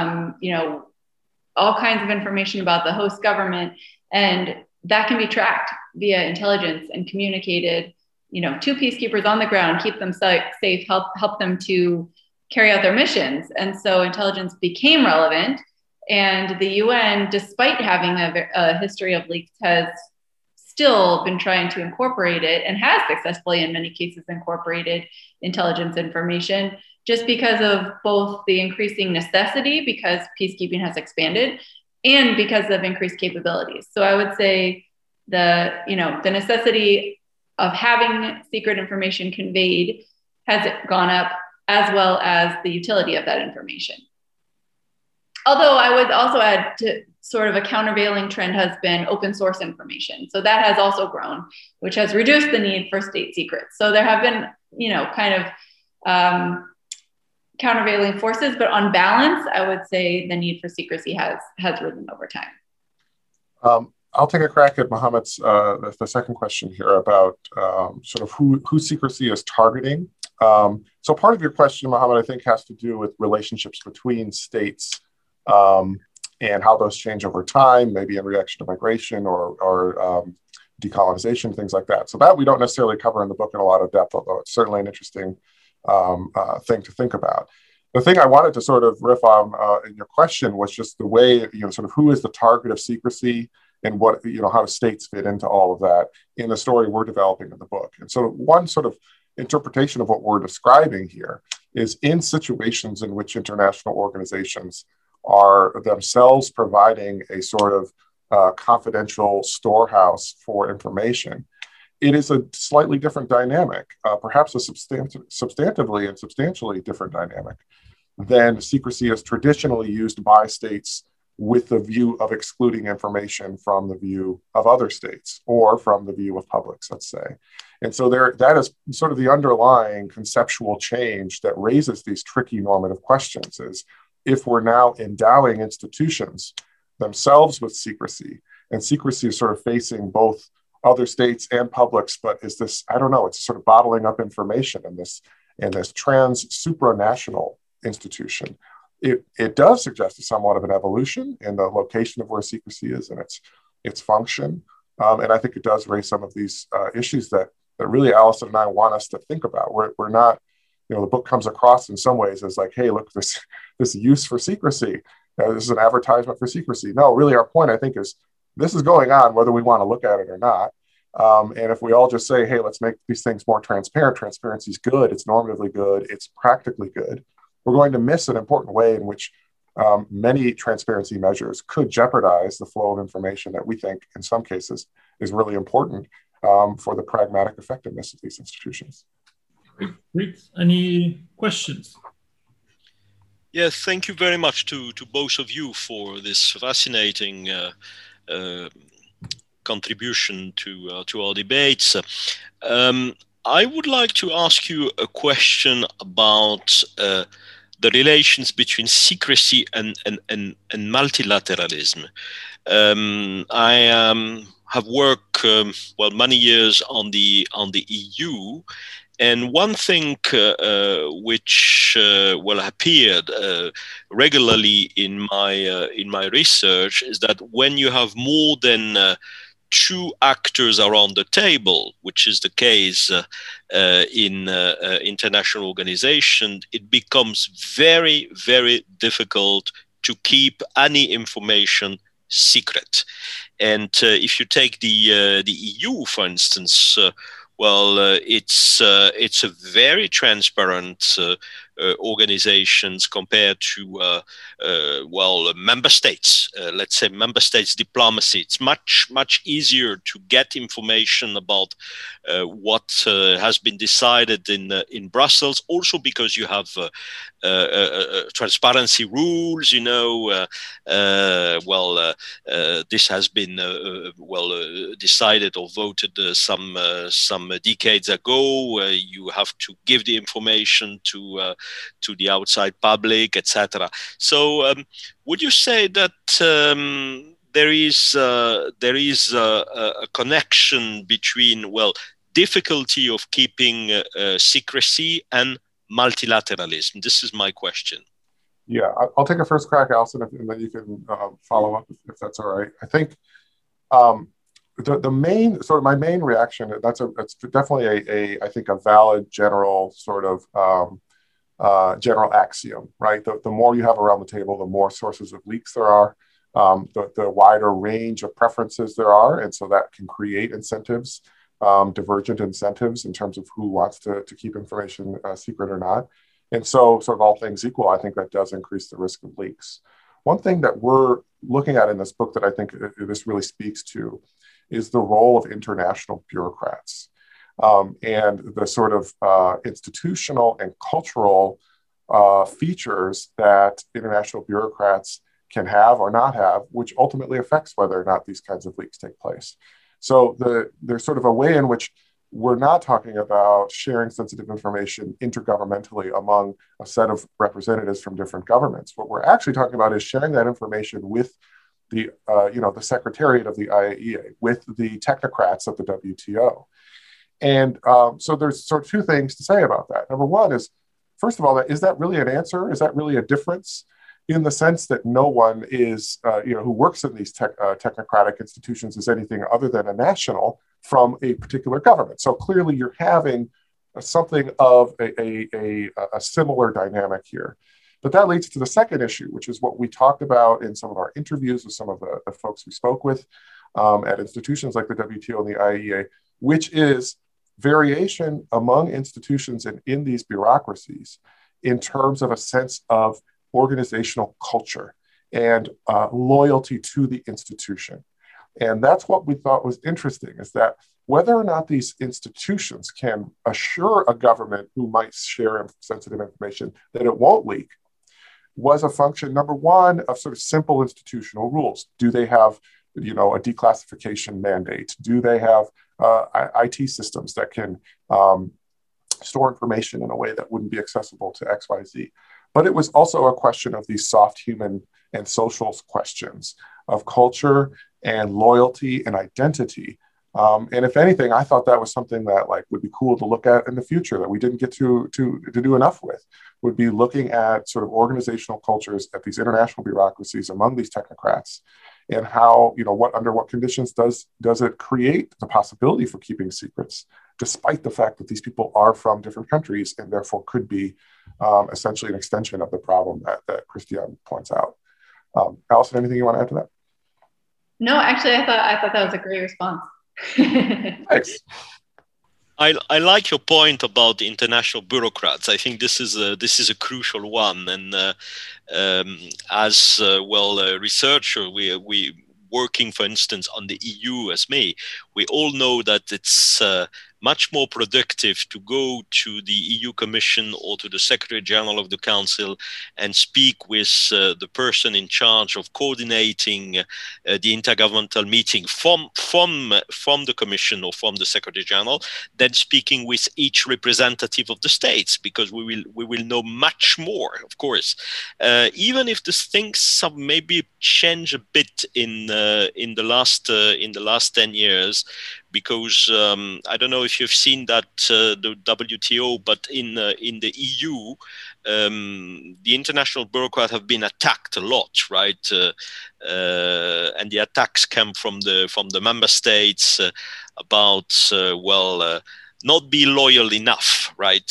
all kinds of information about the host government. And that can be tracked via intelligence and communicated, to peacekeepers on the ground, keep them safe, help them to carry out their missions. And so intelligence became relevant. And the UN, despite having a history of leaks, has still been trying to incorporate it and has successfully, in many cases, incorporated intelligence information just because of both the increasing necessity, because peacekeeping has expanded, and because of increased capabilities. So I would say the necessity of having secret information conveyed has gone up, as well as the utility of that information. Although I would also add to sort of a countervailing trend has been open source information. So that has also grown, which has reduced the need for state secrets. So there have been, countervailing forces, but on balance, I would say the need for secrecy has risen over time. I'll take a crack at Mohammed's the second question here about sort of who secrecy is targeting. So part of your question, Mohammed, I think has to do with relationships between states and how those change over time, maybe in reaction to migration or decolonization, things like that. So that we don't necessarily cover in the book in a lot of depth, although it's certainly an interesting thing to think about. The thing I wanted to sort of riff on in your question was just the way, sort of who is the target of secrecy and what, how do states fit into all of that in the story we're developing in the book. And so one sort of interpretation of what we're describing here is in situations in which international organizations are themselves providing a sort of confidential storehouse for information, it is a slightly different dynamic, perhaps a substantively and substantially different dynamic than secrecy as traditionally used by states with the view of excluding information from the view of other states or from the view of publics, let's say. And so that is sort of the underlying conceptual change that raises these tricky normative questions, is if we're now endowing institutions themselves with secrecy, and secrecy is sort of facing both other states and publics, but is this, I don't know, it's sort of bottling up information in this supranational institution. It does suggest somewhat of an evolution in the location of where secrecy is and its function. And I think it does raise some of these issues that really Allison and I want us to think about. We're not, the book comes across in some ways as like, hey, look, this use for secrecy. This is an advertisement for secrecy. No, really our point, I think, is this is going on whether we want to look at it or not. And if we all just say, hey, let's make these things more transparent, transparency is good, it's normatively good, it's practically good, we're going to miss an important way in which many transparency measures could jeopardize the flow of information that we think in some cases is really important for the pragmatic effectiveness of these institutions. Great. Any questions? Yes, thank you very much to both of you for this fascinating contribution to our debates. I would like to ask you a question about the relations between secrecy and multilateralism. I have worked many years on the EU, and one thing which appeared regularly in my research is that when you have more than two actors around the table, which is the case in international organizations, it becomes very, very difficult to keep any information secret. And if you take the EU, for instance, it's a very transparent organizations compared to member states. Let's say member states diplomacy. It's much easier to get information about what has been decided in Brussels. Also because you have transparency rules. This has been decided or voted some decades ago. You have to give the information to the outside public, etc. So, would you say that there is a connection between difficulty of keeping secrecy and multilateralism? This is my question. Yeah, I'll take a first crack, Allison, and then you can follow up if that's all right. I think the main my main reaction, it's definitely I think a valid general sort of general axiom, right? The more you have around the table, the more sources of leaks there are, the wider range of preferences there are, and so that can create incentives, divergent incentives in terms of who wants to keep information secret or not. And so, sort of all things equal, I think that does increase the risk of leaks. One thing that we're looking at in this book that I think this really speaks to is the role of international bureaucrats and the sort of institutional and cultural features that international bureaucrats can have or not have, which ultimately affects whether or not these kinds of leaks take place. So there's sort of a way in which we're not talking about sharing sensitive information intergovernmentally among a set of representatives from different governments. What we're actually talking about is sharing that information with the secretariat of the IAEA, with the technocrats of the WTO. And so there's sort of two things to say about that. Number one is, first of all, is that really an answer? Is that really a difference? In the sense that no one is, who works in these technocratic institutions is anything other than a national from a particular government. So clearly you're having something of a similar dynamic here. But that leads to the second issue, which is what we talked about in some of our interviews with some of the folks we spoke with at institutions like the WTO and the IAEA, which is variation among institutions and in these bureaucracies in terms of a sense of organizational culture and loyalty to the institution. And that's what we thought was interesting, is that whether or not these institutions can assure a government who might share sensitive information that it won't leak, was a function, number one, of sort of simple institutional rules. Do they have, a declassification mandate? Do they have IT systems that can store information in a way that wouldn't be accessible to XYZ? But it was also a question of these soft human and social questions of culture and loyalty and identity. And if anything, I thought that was something that would be cool to look at in the future that we didn't get to do enough with, would be looking at sort of organizational cultures at these international bureaucracies among these technocrats, and how, under what conditions does it create the possibility for keeping secrets, despite the fact that these people are from different countries and therefore could be essentially an extension of the problem that Christian points out. Allison, anything you want to add to that? No, actually, I thought that was a great response. Thanks. I like your point about the international bureaucrats. I think this is a crucial one, and as a researcher, we working, for instance, on the EU as me, we all know that it's much more productive to go to the EU Commission or to the Secretary General of the Council and speak with the person in charge of coordinating the intergovernmental meeting from the Commission or from the Secretary General than speaking with each representative of the states, because we will know much more, of course. Even if the things have maybe changed a bit in the last 10 years, because I don't know if you've seen that the WTO, but in the EU, the international bureaucrats have been attacked a lot, right? And the attacks come from the member states about not be loyal enough, right?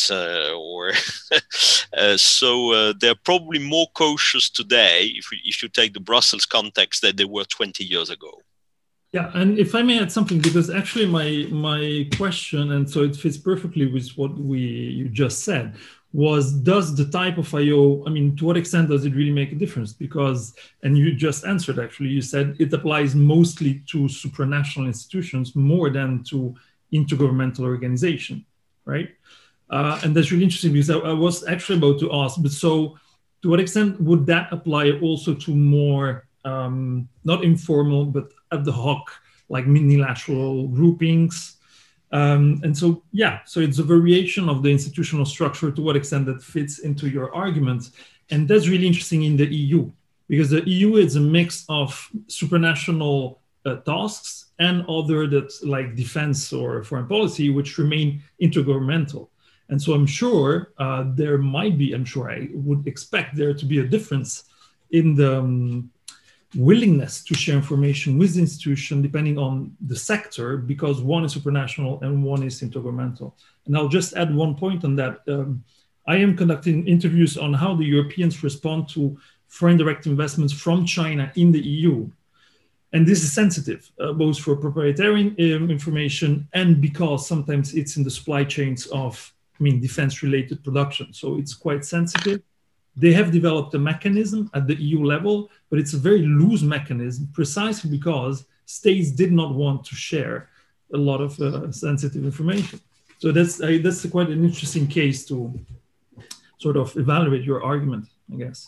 So they're probably more cautious today, if you take the Brussels context, than they were 20 years ago. Yeah, and if I may add something, because actually my question, and so it fits perfectly with what you just said, was, does the type of IO, to what extent does it really make a difference? Because, and you just answered actually, you said it applies mostly to supranational institutions more than to intergovernmental organization, right? And that's really interesting, because I was actually about to ask, but so to what extent would that apply also to more, not informal, but ad hoc, like minilateral groupings? And so, so it's a variation of the institutional structure, to what extent that fits into your argument. And that's really interesting in the EU, because the EU is a mix of supranational tasks and other that's like defense or foreign policy, which remain intergovernmental. And so I'm sure there might be, I would expect there to be a difference in the willingness to share information with the institution depending on the sector, because one is supranational and one is intergovernmental. And I'll just add one point on that. I am conducting interviews on how the Europeans respond to foreign direct investments from China in the EU. And this is sensitive, both for proprietary information and because sometimes it's in the supply chains of, defense-related production. So it's quite sensitive. They have developed a mechanism at the EU level, but it's a very loose mechanism, precisely because states did not want to share a lot of sensitive information. So that's quite an interesting case to sort of evaluate your argument, I guess.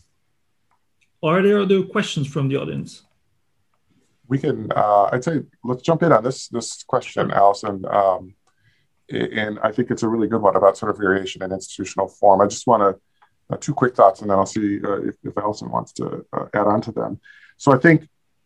Are there other questions from the audience? We can, I'd say, let's jump in on this question, Allison. And I think it's a really good one about sort of variation in institutional form. I just want to, two quick thoughts, and then I'll see if Allison wants to add on to them. So I think,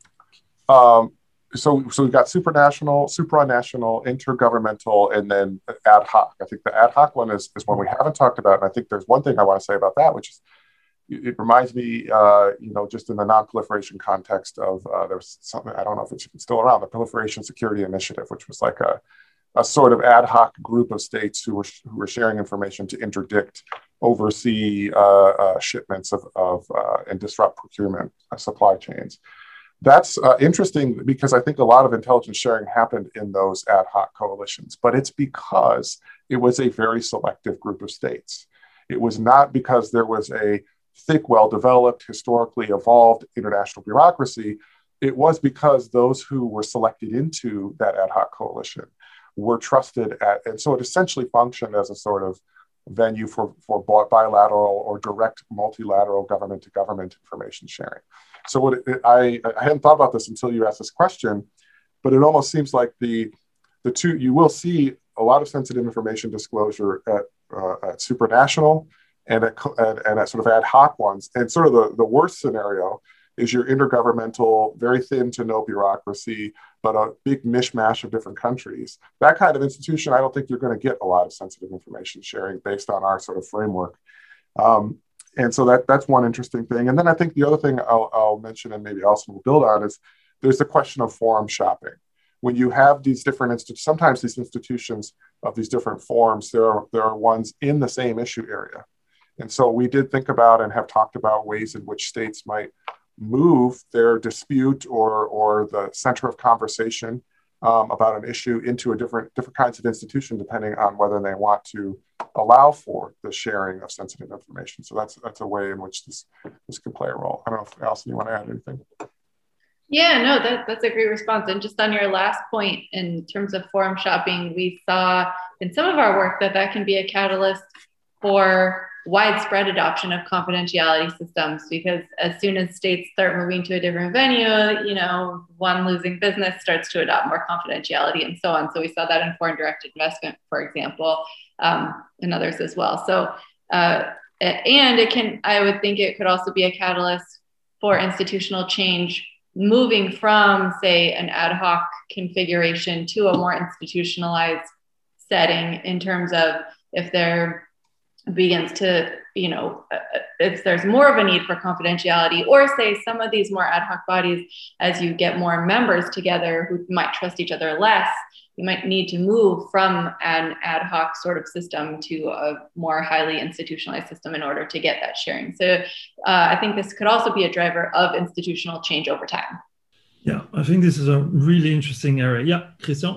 so we've got supranational, supranational, intergovernmental, and then ad hoc. I think the ad hoc one is one we haven't talked about. And I think there's one thing I want to say about that, which is, it reminds me, just in the non-proliferation context of, there was something, I don't know if it's still around, the Proliferation Security Initiative, which was like a sort of ad hoc group of states who were sharing information to interdict, oversee shipments of and disrupt procurement supply chains. That's interesting because I think a lot of intelligence sharing happened in those ad hoc coalitions, but it's because it was a very selective group of states. It was not because there was a thick, well-developed, historically evolved international bureaucracy. It was because those who were selected into that ad hoc coalition were trusted and so it essentially functioned as a sort of venue for bilateral or direct multilateral government-to-government information sharing. So I hadn't thought about this until you asked this question, but it almost seems like the two, you will see a lot of sensitive information disclosure at supranational and at sort of ad hoc ones. And sort of the worst scenario is your intergovernmental, very thin to no bureaucracy, but a big mishmash of different countries. That kind of institution, I don't think you're going to get a lot of sensitive information sharing based on our sort of framework. And so that's one interesting thing. And then I think the other thing I'll mention, and maybe Alison will build on, is there's the question of forum shopping. When you have these different institutions, sometimes these institutions of these different forums, there are ones in the same issue area. And so we did think about and have talked about ways in which states might move their dispute or the center of conversation about an issue into a different kinds of institution, depending on whether they want to allow for the sharing of sensitive information. So that's a way in which this could play a role. I don't know if Alison, you want to add anything? Yeah, no, that's a great response. And just on your last point, in terms of forum shopping, we saw in some of our work that can be a catalyst for widespread adoption of confidentiality systems, because as soon as states start moving to a different venue, one losing business starts to adopt more confidentiality and so on. So we saw that in foreign direct investment, for example, and others as well. So, and I would think it could also be a catalyst for institutional change, moving from, say, an ad hoc configuration to a more institutionalized setting, in terms of if there begins to, if there's more of a need for confidentiality, or say some of these more ad hoc bodies, as you get more members together who might trust each other less, you might need to move from an ad hoc sort of system to a more highly institutionalized system in order to get that sharing. So I think this could also be a driver of institutional change over time. Yeah, I think this is a really interesting area. Yeah, Christian?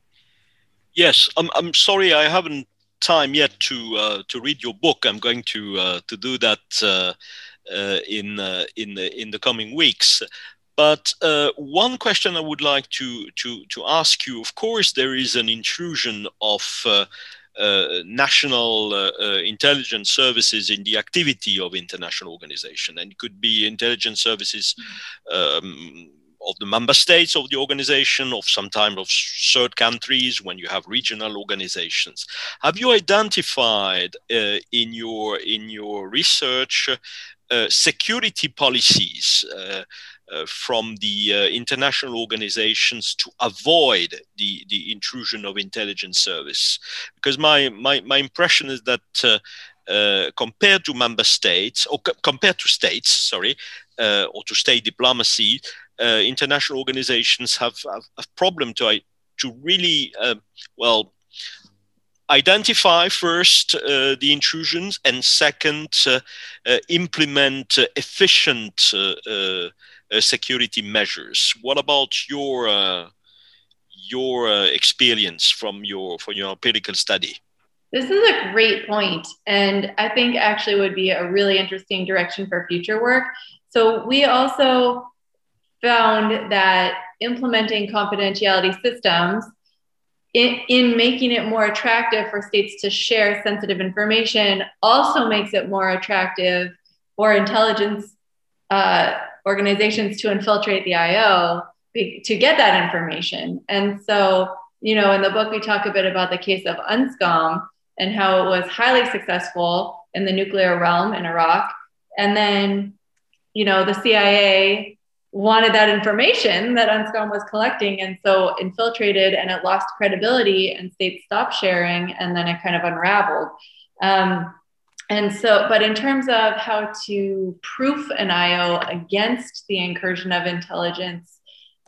Yes, I'm sorry I haven't time yet to read your book. I'm going to do that in the coming weeks. But one question I would like to ask you, of course, there is an intrusion of national intelligence services in the activity of international organization, and it could be intelligence services of the member states of the organization, of sometimes of third countries when you have regional organizations. Have you identified in your research security policies from the international organizations to avoid the intrusion of intelligence service? Because my impression is that compared to member states, or compared to states, sorry, or to state diplomacy, international organizations have a problem to really identify first the intrusions, and second implement efficient security measures. What about your experience from your empirical study? This is a great point, and I think actually would be a really interesting direction for future work. So we also found that implementing confidentiality systems in making it more attractive for states to share sensitive information also makes it more attractive for intelligence organizations to infiltrate the IO to get that information. And so, in the book, we talk a bit about the case of UNSCOM and how it was highly successful in the nuclear realm in Iraq. And then, the CIA wanted that information that UNSCOM was collecting, and so infiltrated, and it lost credibility, and states stopped sharing, and then it kind of unraveled. And so, but in terms of how to proof an IO against the incursion of intelligence,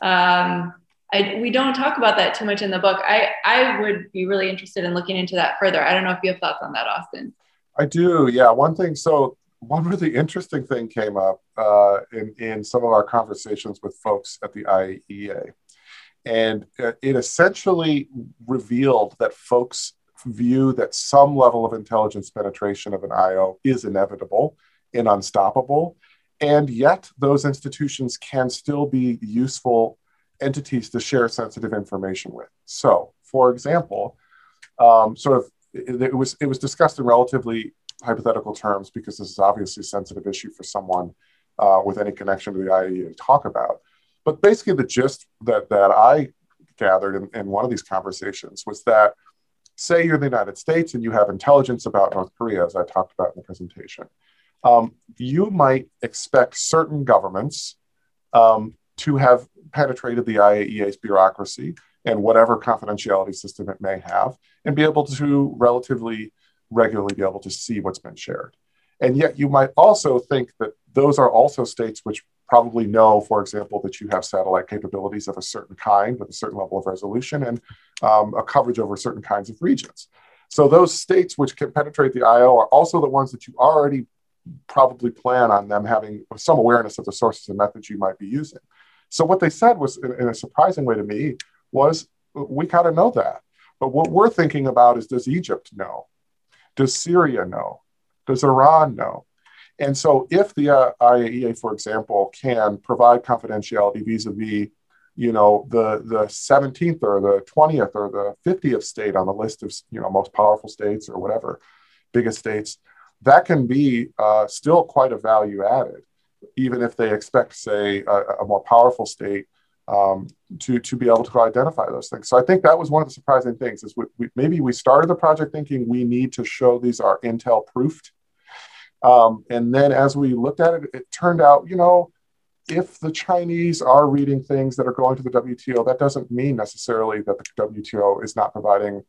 we don't talk about that too much in the book. I would be really interested in looking into that further. I don't know if you have thoughts on that, Austin. I do, yeah. One really interesting thing came up in some of our conversations with folks at the IAEA. And it essentially revealed that folks view that some level of intelligence penetration of an IO is inevitable and unstoppable. And yet those institutions can still be useful entities to share sensitive information with. So, for example, sort of it was discussed in relatively hypothetical terms because this is obviously a sensitive issue for someone with any connection to the IAEA to talk about. But basically the gist that I gathered in one of these conversations was that, say you're the United States and you have intelligence about North Korea, as I talked about in the presentation, you might expect certain governments to have penetrated the IAEA's bureaucracy and whatever confidentiality system it may have, and be able to relatively regularly be able to see what's been shared. And yet you might also think that those are also states which probably know, for example, that you have satellite capabilities of a certain kind with a certain level of resolution and a coverage over certain kinds of regions. So those states which can penetrate the IO are also the ones that you already probably plan on them having some awareness of the sources and methods you might be using. So what they said was, in a surprising way to me, was we kind of know that. But what we're thinking about is, does Egypt know? Does Syria know? Does Iran know? And so if the IAEA, for example, can provide confidentiality vis-a-vis, the 17th or the 20th or the 50th state on the list of, most powerful states or whatever, biggest states, that can be still quite a value added, even if they expect, say, a more powerful state to be able to identify those things. So I think that was one of the surprising things is maybe we started the project thinking we need to show these are Intel proofed. And then as we looked at it, it turned out, if the Chinese are reading things that are going to the WTO, that doesn't mean necessarily that the WTO is not providing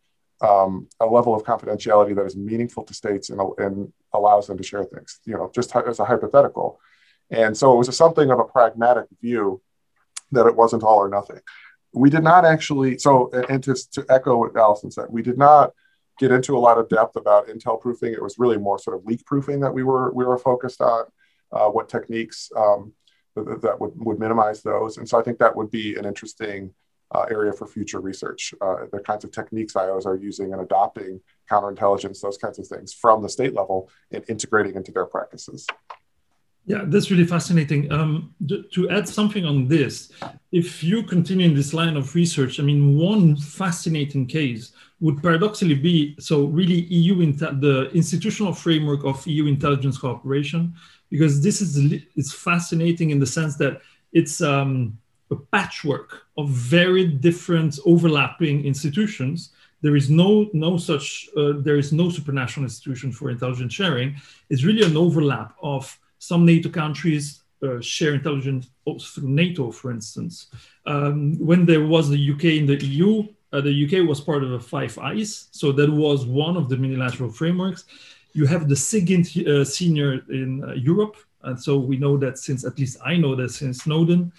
a level of confidentiality that is meaningful to states and allows them to share things, just as a hypothetical. And so it was something of a pragmatic view that it wasn't all or nothing. We did not actually, and to echo what Allison said, we did not get into a lot of depth about Intel proofing. It was really more sort of leak proofing that we were focused on, what techniques that would minimize those. And so I think that would be an interesting area for future research, the kinds of techniques IOs are using and adopting counterintelligence, those kinds of things from the state level and integrating into their practices. Yeah, that's really fascinating. To add something on this, if you continue in this line of research, one fascinating case would paradoxically be, really the institutional framework of EU intelligence cooperation, because this is fascinating in the sense that it's a patchwork of very different overlapping institutions. There is no supranational institution for intelligence sharing. It's really an overlap of some NATO countries share intelligence through NATO, for instance. When there was the UK in the EU, the UK was part of the Five Eyes, so that was one of the multilateral frameworks. You have the SIGINT senior in Europe, and so we know that since, at least I know that since Snowden,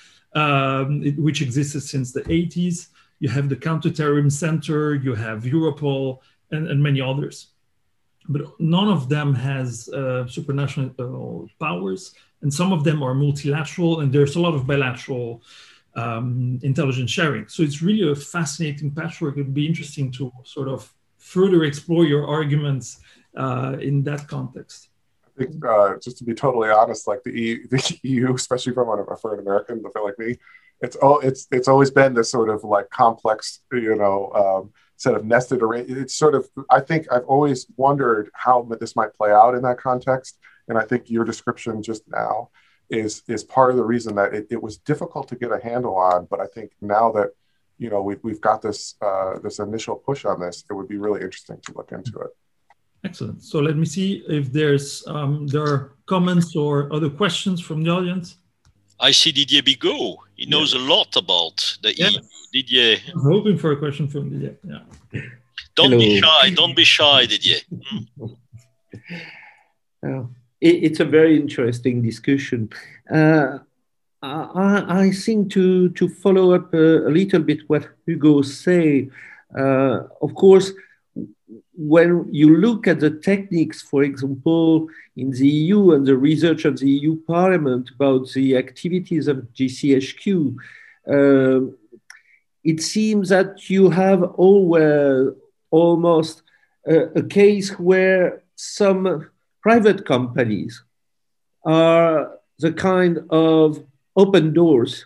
which existed since the 80s. You have the Counterterrorism Center, you have Europol, and many others. But none of them has supranational powers, and some of them are multilateral, and there's a lot of bilateral intelligence sharing. So it's really a fascinating patchwork. It'd be interesting to sort of further explore your arguments in that context. I think just to be totally honest, like the EU, especially for an American, I feel like me, it's always been this sort of like complex, set of nested arrangements. It's sort of, I think I've always wondered how this might play out in that context. And I think your description just now is part of the reason that it was difficult to get a handle on. But I think now that, we've got this initial push on this, it would be really interesting to look into it. Excellent. So let me see if there are comments or other questions from the audience. I see Didier Bigot. He knows a lot about the EU. Didier. I was hoping for a question from Didier. Yeah. Don't be shy. Don't be shy, Didier. It's a very interesting discussion. I think to follow up a little bit what Hugo say, of course, when you look at the techniques, for example, in the EU and the research of the EU Parliament about the activities of GCHQ, it seems that you have almost a case where some private companies are the kind of open doors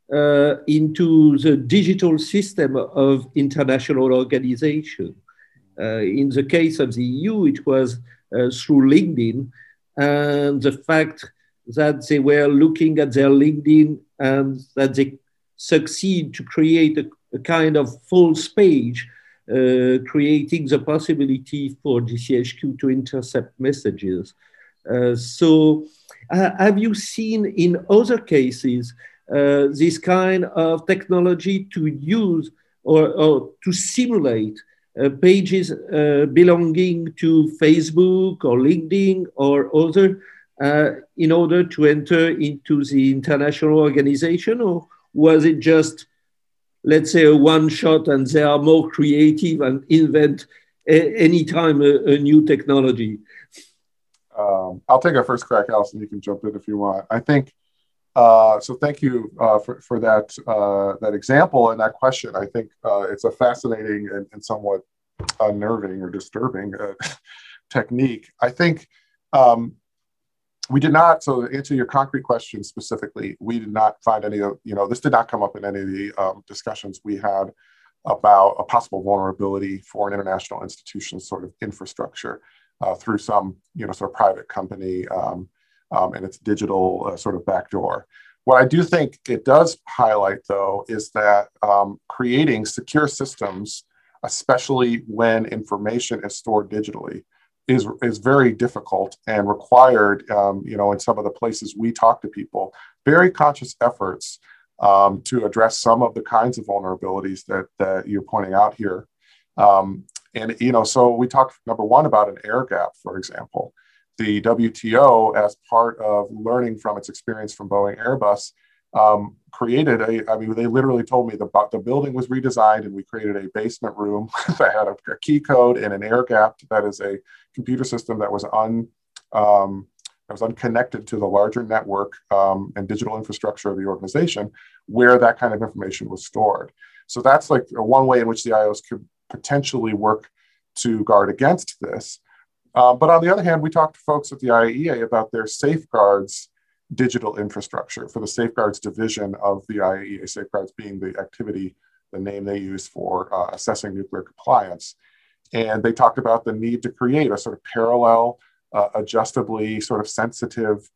into the digital system of international organization. In the case of the EU, it was through LinkedIn, and the fact that they were looking at their LinkedIn and that they succeed to create a kind of false page, creating the possibility for GCHQ to intercept messages. So have you seen in other cases this kind of technology to use or to simulate pages belonging to Facebook or LinkedIn or other in order to enter into the international organization? Or was it just, let's say, a one shot and they are more creative and invent anytime a new technology? I'll take a first crack, Alison. You can jump in if you want. I think, so thank you for that example and that question. I think it's a fascinating and somewhat unnerving or disturbing technique. I think we did not, so to answer your concrete question specifically, we did not find any of, this did not come up in any of the discussions we had about a possible vulnerability for an international institution's sort of infrastructure through some, sort of private company and its digital sort of backdoor. What I do think it does highlight, though, is that creating secure systems, especially when information is stored digitally, is very difficult and required, in some of the places we talk to people, very conscious efforts to address some of the kinds of vulnerabilities that you're pointing out here. So we talked, number one, about an air gap, for example. The WTO, as part of learning from its experience from Boeing Airbus, created they literally told me the building was redesigned and we created a basement room that had a key code and an air gap that is a computer system that was unconnected to the larger network and digital infrastructure of the organization, where that kind of information was stored. So that's like one way in which the IOs could potentially work to guard against this. But on the other hand, we talked to folks at the IAEA about their safeguards digital infrastructure for the safeguards division of the IAEA, safeguards being the activity, the name they use for assessing nuclear compliance. And they talked about the need to create a sort of parallel, adjustably sort of sensitive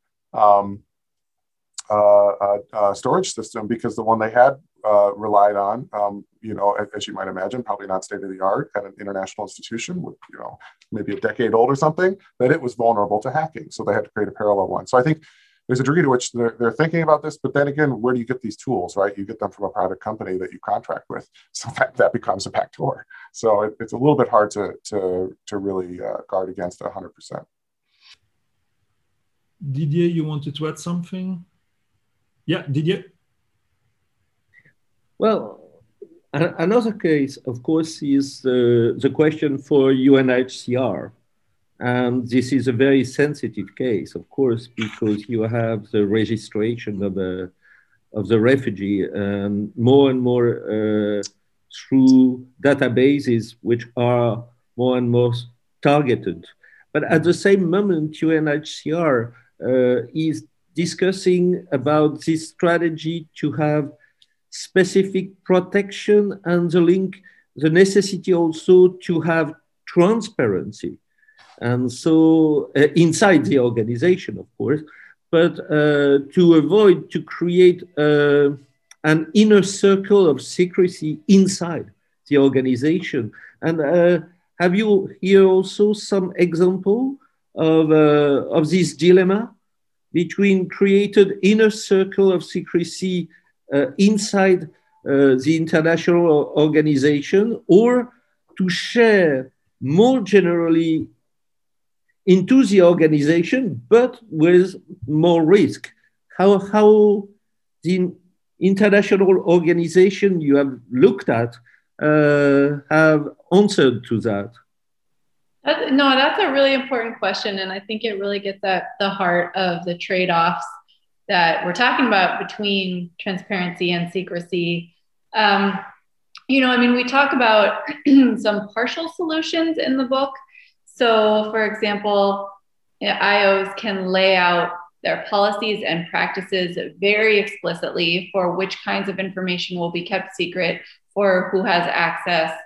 storage system, because the one they had relied on, as you might imagine, probably not state of the art at an international institution with, maybe a decade old or something, that it was vulnerable to hacking. So they had to create a parallel one. So I think there's a degree to which they're thinking about this, but then again, where do you get these tools, right? You get them from a private company that you contract with. So that becomes a backdoor. So it's a little bit hard to really guard against 100%. Didier, you wanted to add something? Yeah, Didier? Well, another case, of course, is the question for UNHCR. And this is a very sensitive case, of course, because you have the registration of the refugee and more through databases which are more and more targeted. But at the same moment, UNHCR is discussing about this strategy to have specific protection and the necessity also to have transparency. And so inside the organization, of course, but to avoid to create an inner circle of secrecy inside the organization. And have you here also some example of this dilemma between created inner circle of secrecy inside the international organization, or to share more generally into the organization, but with more risk? How the international organization you have looked at have answered to that? No, that's a really important question. And I think it really gets at the heart of the trade-offs that we're talking about between transparency and secrecy. We talk about some partial solutions in the book. So, for example, IOs can lay out their policies and practices very explicitly for which kinds of information will be kept secret, for who has access,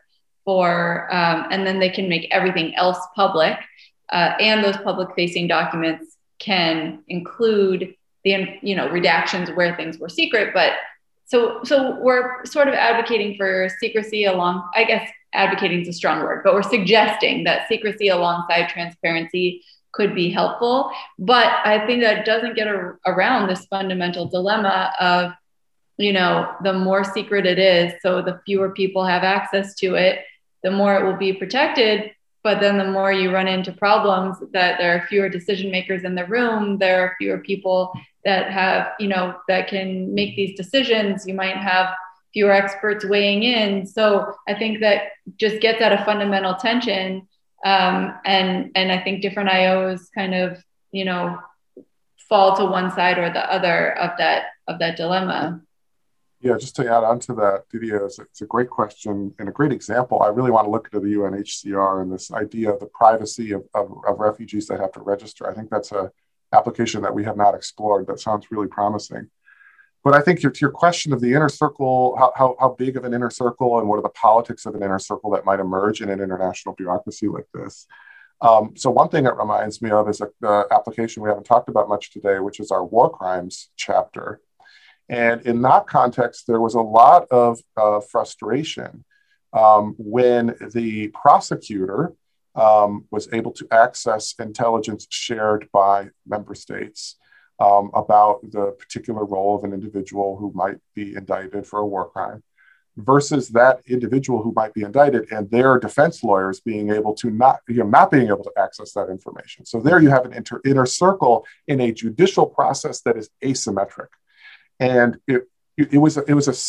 and then they can make everything else public. And those public-facing documents can include the, redactions where things were secret. But so we're sort of advocating for secrecy along, I guess advocating is a strong word, but we're suggesting that secrecy alongside transparency could be helpful. But I think that doesn't get around this fundamental dilemma of, the more secret it is, so the fewer people have access to it, the more it will be protected. But then the more you run into problems that there are fewer decision makers in the room, there are fewer people that have, that can make these decisions. You might have fewer experts weighing in. So I think that just gets at a fundamental tension. And I think different IOs kind of, fall to one side or the other of that dilemma. Yeah, just to add on to that, Didier, it's a great question and a great example. I really want to look into the UNHCR and this idea of the privacy of refugees that have to register. I think that's an application that we have not explored. That sounds really promising. But I think to your question of the inner circle, how big of an inner circle and what are the politics of an inner circle that might emerge in an international bureaucracy like this? So one thing it reminds me of is the application we haven't talked about much today, which is our war crimes chapter. And in that context, there was a lot of frustration when the prosecutor was able to access intelligence shared by member states about the particular role of an individual who might be indicted for a war crime versus that individual who might be indicted and their defense lawyers being able to not being able to access that information. So there you have an inner circle in a judicial process that is asymmetric. And it was an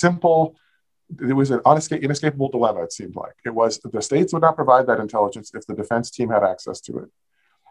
inescapable dilemma, it seemed like. It was the states would not provide that intelligence if the defense team had access to it.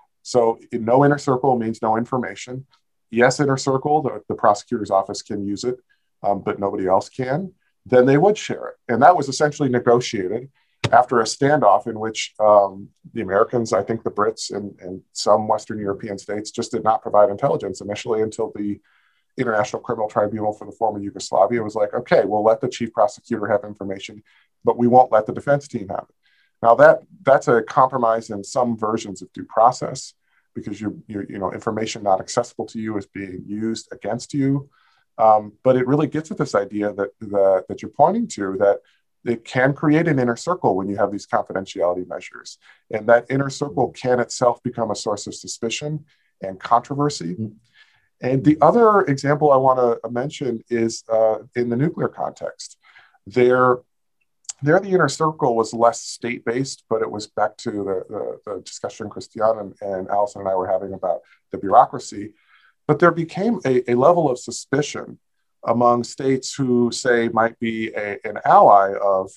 So no inner circle means no information. Yes, inner circle, the prosecutor's office can use it, but nobody else can. Then they would share it. And that was essentially negotiated after a standoff in which the Americans, I think the Brits and some Western European states just did not provide intelligence initially until the International Criminal Tribunal for the former Yugoslavia was like, okay, we'll let the chief prosecutor have information, but we won't let the defense team have it. Now that's a compromise in some versions of due process because your information not accessible to you is being used against you. But it really gets at this idea that you're pointing to, that it can create an inner circle when you have these confidentiality measures. And that inner circle can itself become a source of suspicion and controversy. Mm-hmm. And the other example I want to mention is in the nuclear context. There the inner circle was less state-based, but it was back to the discussion Christiane and Allison and I were having about the bureaucracy. But there became a level of suspicion among states who, say, might be an ally of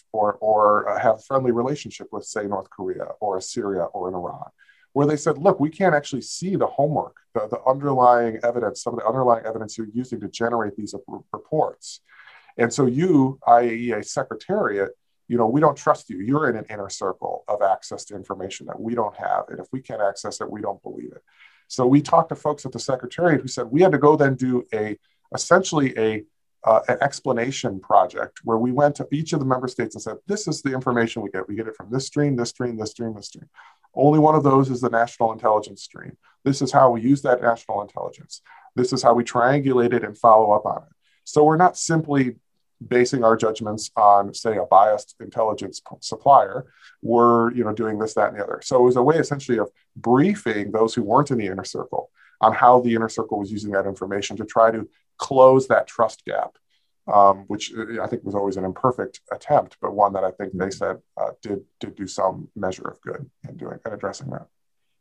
or have a friendly relationship with, say, North Korea or Syria or in Iran, where they said, look, we can't actually see the homework, the underlying evidence, some of the underlying evidence you're using to generate these reports. And so you, IAEA Secretariat, we don't trust you. You're in an inner circle of access to information that we don't have. And if we can't access it, we don't believe it. So we talked to folks at the Secretariat who said we had to go then do essentially an explanation project where we went to each of the member states and said, this is the information we get. We get it from this stream, this stream, this stream, this stream. Only one of those is the national intelligence stream. This is how we use that national intelligence. This is how we triangulate it and follow up on it. So we're not simply basing our judgments on, say, a biased intelligence supplier. We're, doing this, that, and the other. So it was a way essentially of briefing those who weren't in the inner circle on how the inner circle was using that information to try to close that trust gap, which I think was always an imperfect attempt, but one that I think they said did do some measure of good in doing and addressing that.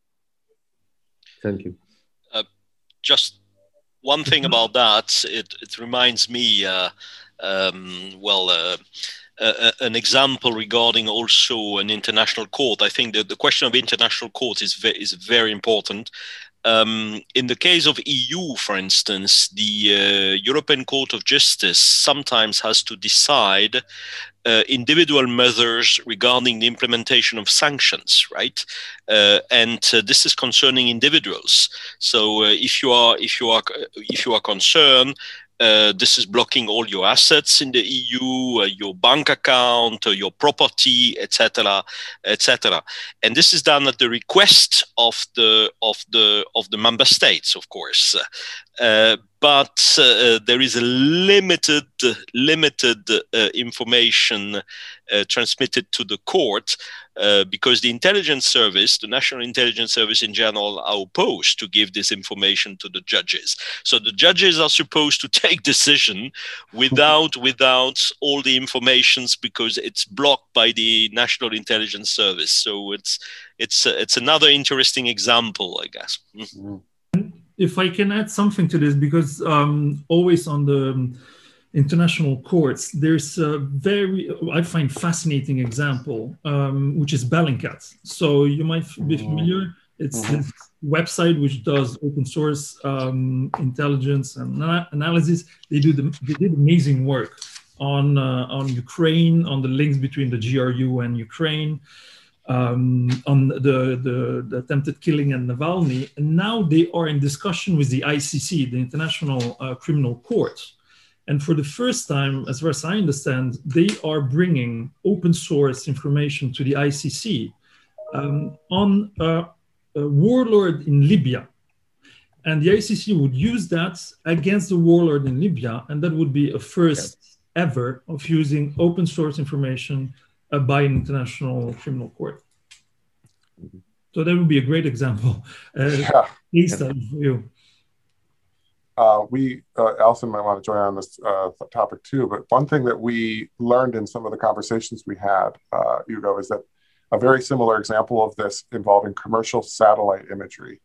Thank you. Just one thing about that, it reminds me, an example regarding also an international court. I think that the question of international court is very important. In the case of EU, for instance, the European Court of Justice sometimes has to decide individual measures regarding the implementation of sanctions, right? And this is concerning individuals. So if you are concerned, this is blocking all your assets in the EU, your bank account, your property, etc., etc. And this is done at the request of the member states, of course. But there is a limited information transmitted to the court because the intelligence service, the National Intelligence Service in general, are opposed to give this information to the judges. So the judges are supposed to take decision without all the informations because it's blocked by the National Intelligence Service. So it's another interesting example, I guess. Mm-hmm. If I can add something to this, because always on the international courts, there's a I find fascinating example, which is Bellingcat. So you might be familiar. It's this website which does open source intelligence and analysis. They did amazing work on Ukraine, on the links between the GRU and Ukraine. On the attempted killing of Navalny, and now they are in discussion with the ICC, the International Criminal Court. And for the first time, as far as I understand, they are bringing open source information to the ICC on a warlord in Libya. And the ICC would use that against the warlord in Libya, and that would be a first ever of using open source information by an international criminal court. So that would be a great example. Case study for you. Alison might want to join on this topic too, but one thing that we learned in some of the conversations we had, Hugo, is that a very similar example of this involving commercial satellite imagery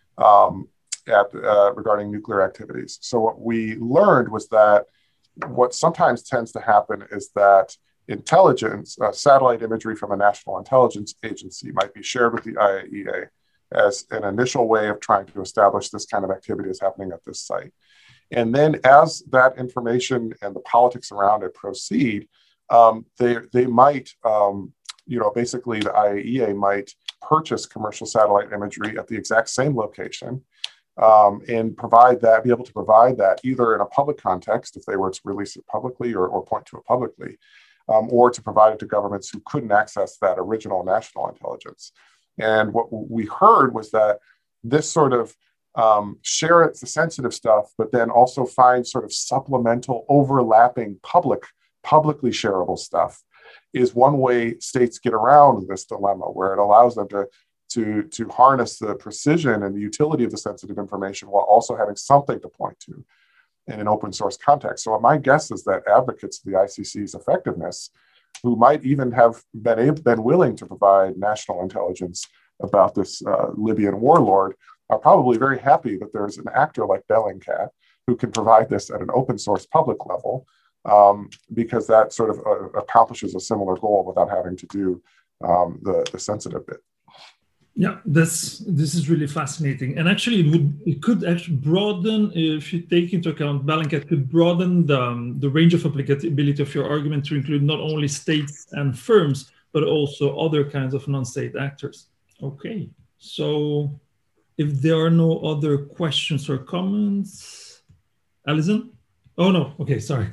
regarding nuclear activities. So what we learned was that what sometimes tends to happen is that intelligence, satellite imagery from a national intelligence agency might be shared with the IAEA as an initial way of trying to establish this kind of activity is happening at this site. And then as that information and the politics around it proceed, they might, basically the IAEA might purchase commercial satellite imagery at the exact same location and be able to provide that either in a public context, if they were to release it publicly or point to it publicly, or to provide it to governments who couldn't access that original national intelligence. And what we heard was that this sort of share the sensitive stuff, but then also find sort of supplemental overlapping publicly shareable stuff is one way states get around this dilemma, where it allows them to harness the precision and the utility of the sensitive information while also having something to point to in an open source context. So my guess is that advocates of the ICC's effectiveness, who might even have been willing to provide national intelligence about this Libyan warlord, are probably very happy that there's an actor like Bellingcat who can provide this at an open source public level, because that sort of accomplishes a similar goal without having to do the sensitive bit. Yeah, this is really fascinating, and actually, it could actually broaden, if you take into account Bellingcat, could broaden the range of applicability of your argument to include not only states and firms, but also other kinds of non-state actors. Okay, so if there are no other questions or comments, Alison? Oh no, okay, sorry.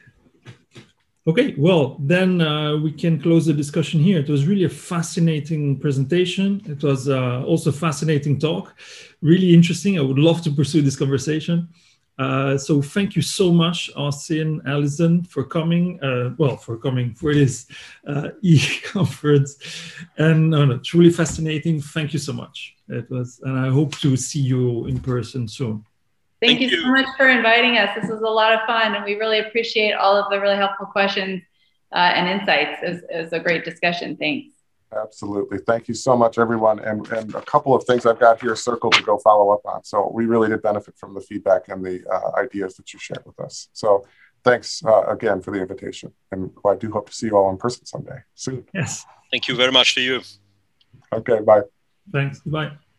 Okay, well, then we can close the discussion here. It was really a fascinating presentation. It was also a fascinating talk, really interesting. I would love to pursue this conversation. So thank you so much, Austin, Alison, for coming, for this e-conference. And truly fascinating. Thank you so much. It was, and I hope to see you in person soon. Thank you so much for inviting us. This was a lot of fun, and we really appreciate all of the really helpful questions and insights. It was a great discussion. Thanks. Absolutely. Thank you so much, everyone. And a couple of things I've got here circled to go follow up on. So we really did benefit from the feedback and the ideas that you shared with us. So thanks again for the invitation. And I do hope to see you all in person someday soon. Yes. Thank you very much to you. Okay, bye. Thanks. Bye.